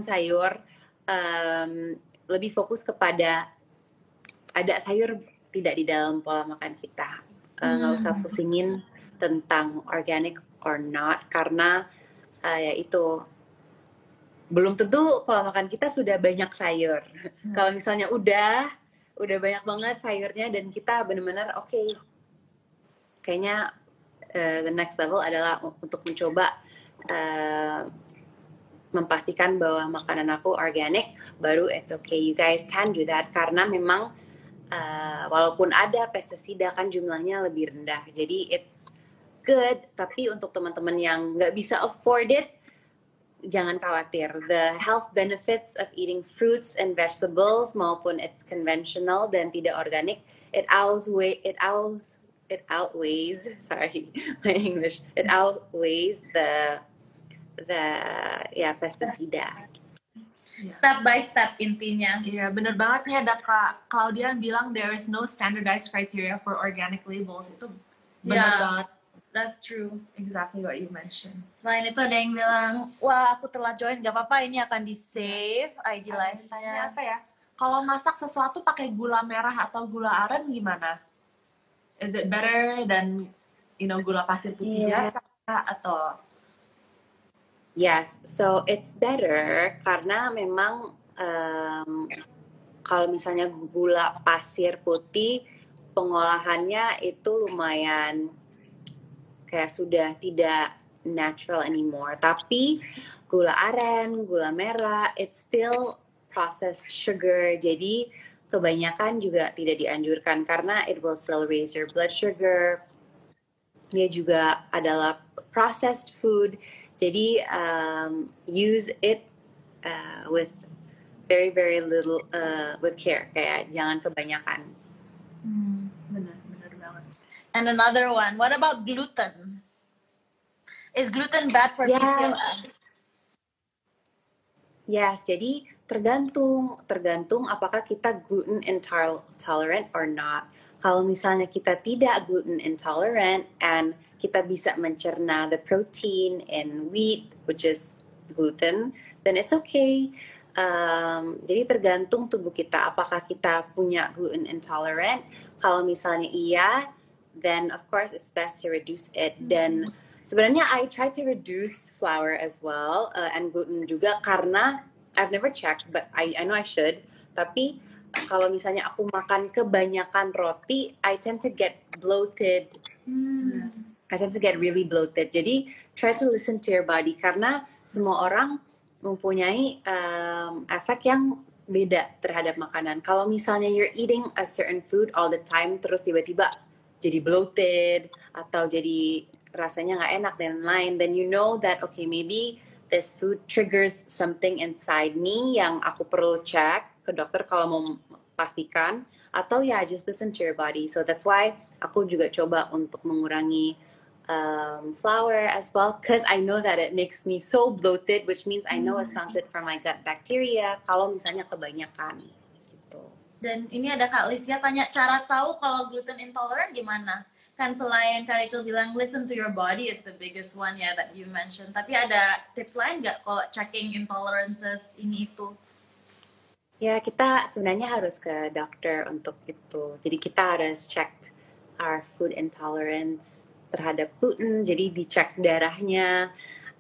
lebih fokus kepada ada sayur tidak di dalam pola makan kita. Nggak usah pusingin tentang organic or not, karena ya itu belum tentu pola makan kita sudah banyak sayur. Kalau misalnya udah banyak banget sayurnya dan kita benar-benar oke, kayaknya the next level adalah untuk mencoba memastikan bahwa makanan aku organic, baru it's okay, you guys can do that, karena memang walaupun ada pestisida kan jumlahnya lebih rendah, jadi it's good. Tapi untuk teman-teman yang nggak bisa afford it, jangan khawatir. The health benefits of eating fruits and vegetables maupun it's conventional dan tidak organic, it outweighs sorry my English, it outweighs the pestisida. Step by step intinya. Iya, bener banget nih, ada Kak Claudia yang bilang there is no standardized criteria for organic labels. Itu bener banget. That's true. Exactly what you mentioned. Selain itu ada yang bilang, wah aku telah join, gak apa-apa, ini akan di save IG live-nya. Apa ya? Kalau masak sesuatu pakai gula merah atau gula aren gimana? Is it better than gula pasir putih biasa atau? Yes, so it's better karena memang kalau misalnya gula pasir putih pengolahannya itu lumayan kayak sudah tidak natural anymore. Tapi gula aren, gula merah, it's still processed sugar. Jadi kebanyakan juga tidak dianjurkan karena it will still raise your blood sugar. Dia juga adalah processed food. Jadi use it with very very little with care, kayak jangan kebanyakan. Benar banget. And another one, what about gluten? Is gluten bad for PCOS? Yes, jadi tergantung apakah kita gluten intolerant or not. Kalau misalnya kita tidak gluten intolerant and kita bisa mencerna the protein in wheat, which is gluten, then it's okay. Jadi tergantung tubuh kita, apakah kita punya gluten intolerant. Kalau misalnya iya, then of course it's best to reduce it. Dan sebenarnya I try to reduce flour as well and gluten juga karena I've never checked, but I know I should. Tapi kalau misalnya aku makan kebanyakan roti, I tend to get bloated. I tend to get really bloated. Jadi try to listen to your body karena semua orang mempunyai efek yang beda terhadap makanan. Kalau misalnya you're eating a certain food all the time, terus tiba-tiba jadi bloated atau jadi rasanya nggak enak dan lain, then you know that okay, maybe this food triggers something inside me yang aku perlu cek ke dokter kalau mau pastikan, atau ya just listen to your body. So that's why aku juga coba untuk mengurangi flour as well, because I know that it makes me so bloated, which means I know it's not good for my gut bacteria kalau misalnya kebanyakan gitu. Dan ini ada Kak Lisya tanya, cara tahu kalau gluten intolerant gimana? Kan selain Kak Rachel bilang listen to your body is the biggest one ya that you mentioned, tapi ada tips lain nggak kalau checking intolerances ini itu? Ya, kita sebenarnya harus ke dokter untuk itu. Jadi kita harus check our food intolerance terhadap gluten. Jadi dicek darahnya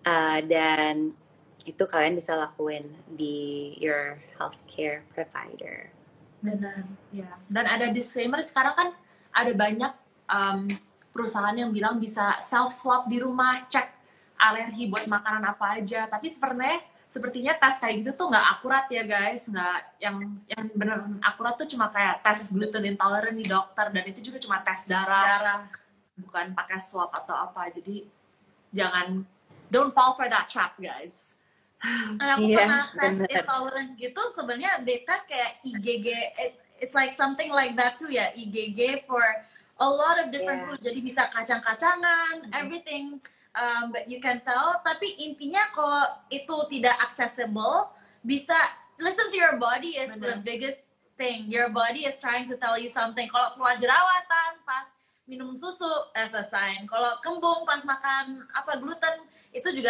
dan itu kalian bisa lakuin di your healthcare provider. Benar, ya. Dan ada disclaimer, sekarang kan ada banyak perusahaan yang bilang bisa self swab di rumah, cek alergi buat makanan apa aja. Tapi sepertinya tes kayak gitu tuh nggak akurat ya guys. Nggak, yang bener akurat tuh cuma kayak tes gluten intolerant di dokter, dan itu juga cuma tes darah. Bukan pakai swab atau apa. Jadi jangan, don't fall for that trap guys. Aku pernah tes intolerance gitu, sebenarnya they tes kayak IgG, it's like something like that too ya, IgG for a lot of different foods. Jadi bisa kacang-kacangan, everything. But you can tell, tapi intinya kalau itu tidak accessible, bisa listen to your body is the biggest thing. Your body is trying to tell you something. Kalau keluar jerawatan pas minum susu, as a sign. Kalau kembung pas makan gluten, itu juga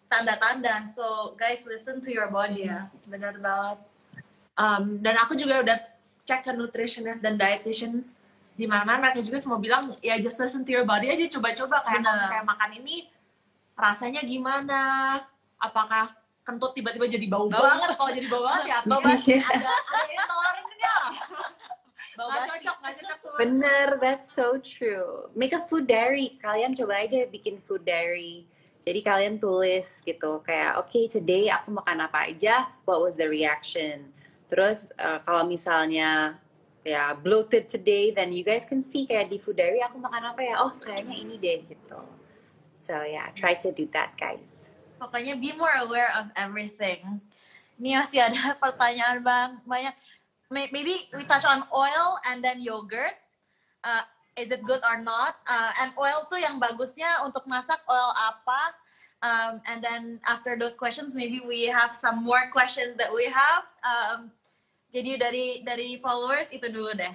tanda-tanda. So guys, listen to your body. Iya, benar banget. Dan aku juga udah cek ke nutritionist dan dietitian di mana mereka juga semua bilang ya just listen to your body aja, coba-coba kayak kalau saya makan ini rasanya gimana, apakah kentut tiba-tiba jadi bau banget, kalau jadi bau banget ya bau banget ada intoleransinya. Nggak cocok sama. Bener, that's so true. Make a food diary. Kalian coba aja bikin food diary. Jadi kalian tulis gitu kayak okay, today aku makan apa aja, what was the reaction. Terus kalau misalnya ya bloated today, then you guys can see kayak di food diary aku makan apa ya, oh kayaknya ini deh gitu. So yeah, try to do that guys. Pokoknya be more aware of everything. Ini masih ada pertanyaan banyak. Maybe we touch on oil and then yogurt. Is it good or not? And oil tuh yang bagusnya untuk masak oil apa? And then after those questions, maybe we have some more questions that we have. Jadi dari followers itu dulu deh.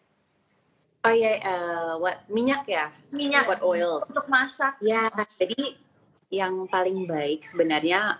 Oh ya, what minyak ya? Minyak. What oils? Untuk masak. Ya, jadi yang paling baik sebenarnya,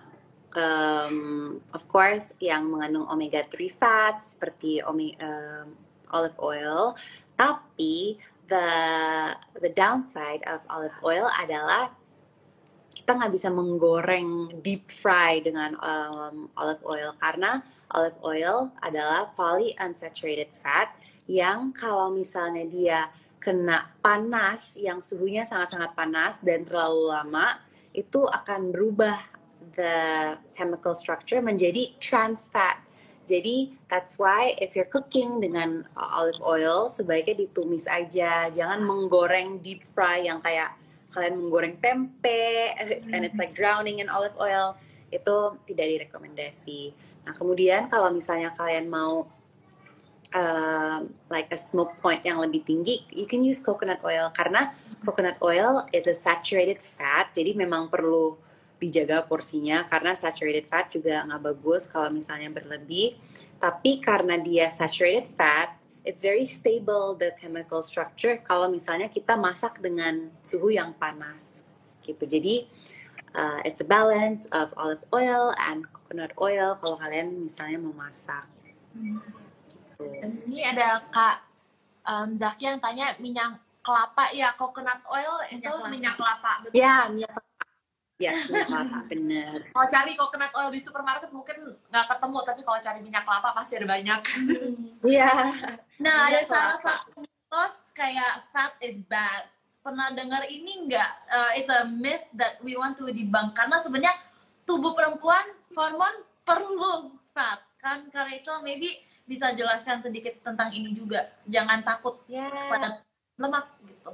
of course, yang mengandung omega 3 fats seperti olive oil. Tapi the downside of olive oil adalah kita nggak bisa menggoreng deep fry dengan olive oil karena olive oil adalah polyunsaturated fat yang kalau misalnya dia kena panas yang suhunya sangat-sangat panas dan terlalu lama itu akan berubah the chemical structure menjadi trans fat. Jadi that's why if you're cooking dengan olive oil sebaiknya ditumis aja, jangan menggoreng deep fry yang kayak kalian menggoreng tempe and it's like drowning in olive oil, itu tidak direkomendasi. Nah kemudian kalau misalnya kalian mau like a smoke point yang lebih tinggi, you can use coconut oil karena coconut oil is a saturated fat, jadi memang perlu dijaga porsinya karena saturated fat juga nggak bagus kalau misalnya berlebih. Tapi karena dia saturated fat, it's very stable the chemical structure kalau misalnya kita masak dengan suhu yang panas gitu. Jadi it's a balance of olive oil and coconut oil kalau kalian misalnya mau masak. Gitu. Ini ada Kak Zaki yang tanya minyak kelapa ya, coconut oil itu minyak kelapa. Betul? Ya, minyak kelapa. Ya, minyak kelapa, bener. Kalau cari coconut oil di supermarket mungkin nggak ketemu, tapi kalau cari minyak kelapa pasti ada banyak. Iya. Nah, ada salah satu mitos kayak fat is bad. Pernah dengar ini nggak? It's a myth that we want to debunk. Karena sebenarnya tubuh perempuan, hormon perlu fat. Kan Kak Rachel maybe bisa jelaskan sedikit tentang ini juga. Jangan takut pada lemak gitu.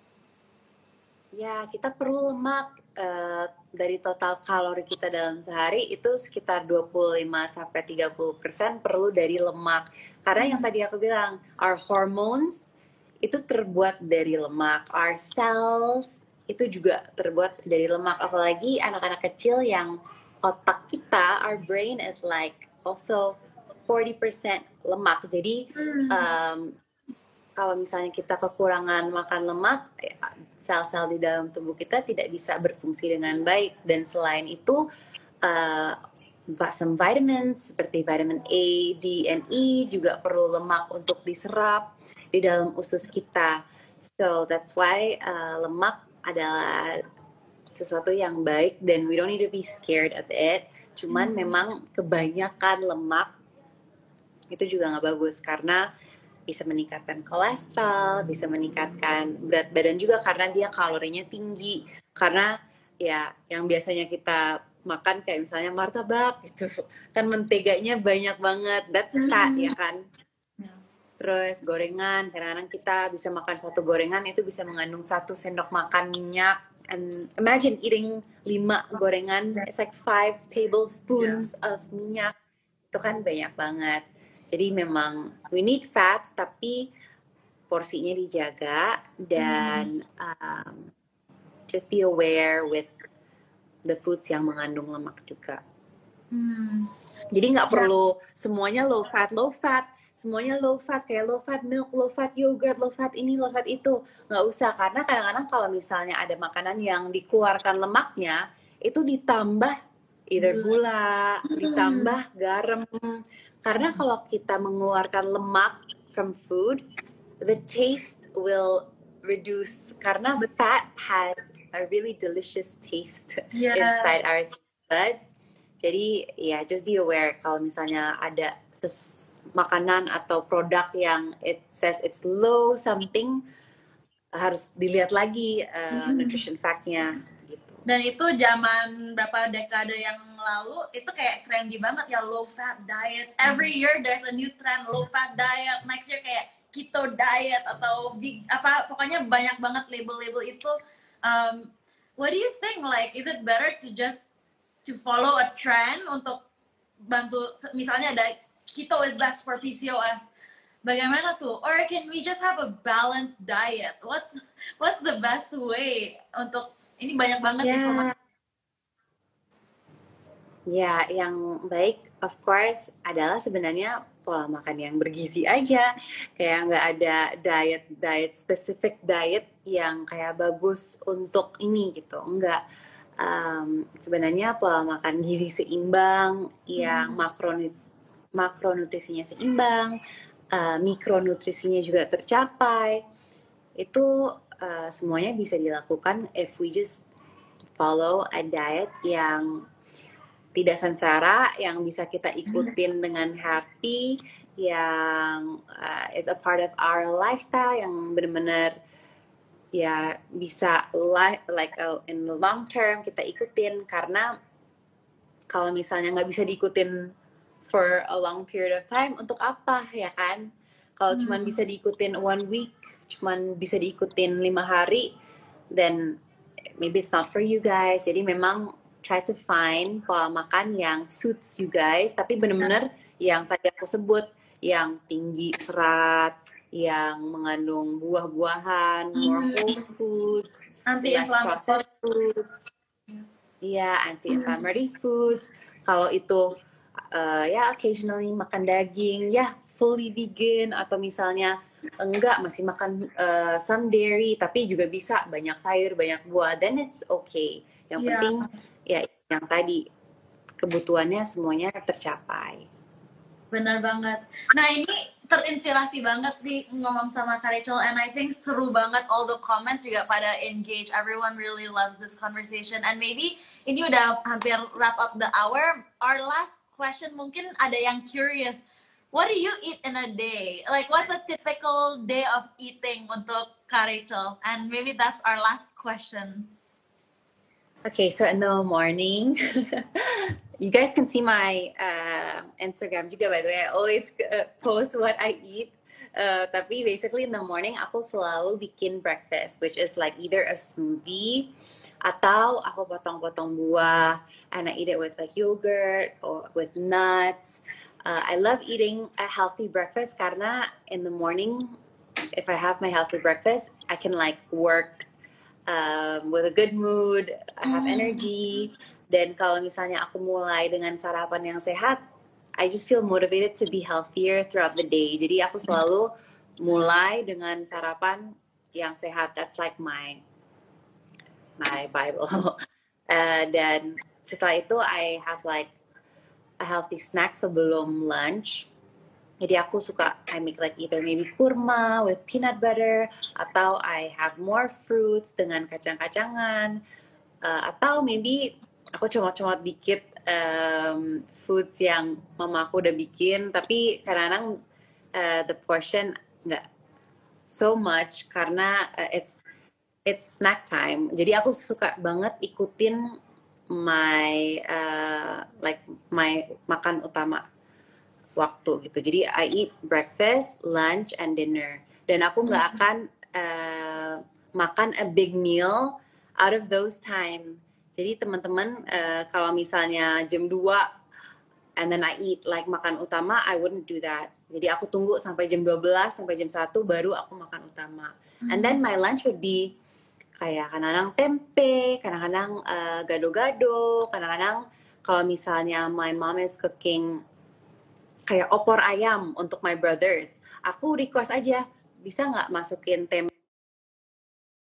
Ya, kita perlu lemak. Dari total kalori kita dalam sehari itu sekitar 25-30% perlu dari lemak. Karena yang tadi aku bilang, our hormones itu terbuat dari lemak, our cells itu juga terbuat dari lemak. Apalagi anak-anak kecil yang otak kita, our brain is like also 40% lemak. Jadi kalau misalnya kita kekurangan makan lemak, sel-sel di dalam tubuh kita tidak bisa berfungsi dengan baik. Dan selain itu, some vitamins seperti vitamin A, D, and E juga perlu lemak untuk diserap di dalam usus kita. So that's why lemak adalah sesuatu yang baik dan we don't need to be scared of it. Cuman memang kebanyakan lemak itu juga nggak bagus karena bisa meningkatkan kolesterol, bisa meningkatkan berat badan juga karena dia kalorinya tinggi. Karena ya yang biasanya kita makan kayak misalnya martabak gitu, kan menteganya banyak banget, that's fat ya kan. Terus gorengan, kadang-kadang kita bisa makan satu gorengan itu bisa mengandung 1 sendok makan minyak. And imagine eating 5 gorengan, it's like 5 tablespoons of minyak. Itu kan banyak banget. Jadi memang we need fats tapi porsinya dijaga dan just be aware with the foods yang mengandung lemak juga. Jadi nggak perlu semuanya low fat, semuanya low fat kayak low fat milk, low fat yogurt, low fat ini, low fat itu. Nggak usah karena kadang-kadang kalau misalnya ada makanan yang dikeluarkan lemaknya itu ditambah either gula, ditambah garam. Karena kalau kita mengeluarkan lemak from food, the taste will reduce karena fat has a really delicious taste inside our taste buds. Jadi ya just be aware kalau misalnya ada makanan atau produk yang it says it's low something, harus dilihat lagi nutrition fact-nya gitu. Dan itu zaman berapa dekade yang lalu itu kayak trendy banget ya, low fat diets. Every year there's a new trend, low fat diet. Next year kayak keto diet atau pokoknya banyak banget label-label itu. What do you think? Like, is it better to just to follow a trend untuk bantu, misalnya ada keto is best for PCOS, bagaimana tuh? Or can we just have a balanced diet? What's the best way untuk ini banyak banget informasi. Ya, yang baik of course adalah sebenarnya pola makan yang bergizi aja. Kayak nggak ada diet specific diet yang kayak bagus untuk ini gitu. Enggak. Sebenarnya pola makan gizi seimbang yang makronutrisinya seimbang, mikronutrisinya juga tercapai. Itu semuanya bisa dilakukan if we just follow a diet yang tidak sengsara, yang bisa kita ikutin dengan happy, yang is a part of our lifestyle, yang benar-benar ya bisa in the long term kita ikutin. Karena kalau misalnya nggak bisa diikutin for a long period of time, untuk apa ya kan? Kalau cuman bisa diikutin 1 week, cuman bisa diikutin 5 hari, then maybe it's not for you guys. Jadi memang try to find pola makan yang suits you guys, tapi benar-benar yang tadi aku sebut, yang tinggi serat, yang mengandung buah-buahan, more whole foods, less processed foods, anti-inflammatory foods. Kalau itu ya occasionally makan daging, ya fully vegan, atau misalnya enggak masih makan some dairy tapi juga bisa banyak sayur, banyak buah, then it's okay. Yang penting ya yang tadi kebutuhannya semuanya tercapai. Benar banget. Nah, ini terinspirasi banget nih ngomong sama Kak Rachel, and I think seru banget, all the comments juga pada engage. Everyone really loves this conversation, and maybe ini udah hampir wrap up the hour. Our last question, mungkin ada yang curious, what do you eat in a day? Like, what's a typical day of eating untuk Kak Rachel? And maybe that's our last question. Okay, so in the morning, you guys can see my Instagram juga, by the way. I always post what I eat. Tapi basically in the morning, aku selalu bikin breakfast, which is like either a smoothie, atau aku potong-potong buah, and I eat it with like yogurt or with nuts. I love eating a healthy breakfast karena in the morning, if I have my healthy breakfast, I can like work with a good mood, I have energy. Dan kalau misalnya aku mulai dengan sarapan yang sehat, I just feel motivated to be healthier throughout the day. Jadi aku selalu mulai dengan sarapan yang sehat. That's like my Bible. Dan setelah itu I have like a healthy snack sebelum lunch. Jadi aku suka, I make like either maybe kurma with peanut butter, atau I have more fruits dengan kacang-kacangan, atau maybe aku comot-comot dikit foods yang mama aku udah bikin, tapi kadang-kadang the portion nggak so much karena it's snack time. Jadi aku suka banget ikutin my makan utama waktu gitu. Jadi I eat breakfast, lunch, and dinner. Dan aku nggak akan makan a big meal out of those time. Jadi teman-teman kalau misalnya jam 2 and then I eat like makan utama, I wouldn't do that. Jadi aku tunggu sampai jam 12 sampai jam 1 baru aku makan utama. And then my lunch would be kayak kadang-kadang tempe, kadang-kadang gado-gado, kadang-kadang kalau misalnya my mom is cooking kayak opor ayam untuk my brothers, aku request aja, bisa nggak masukin tempe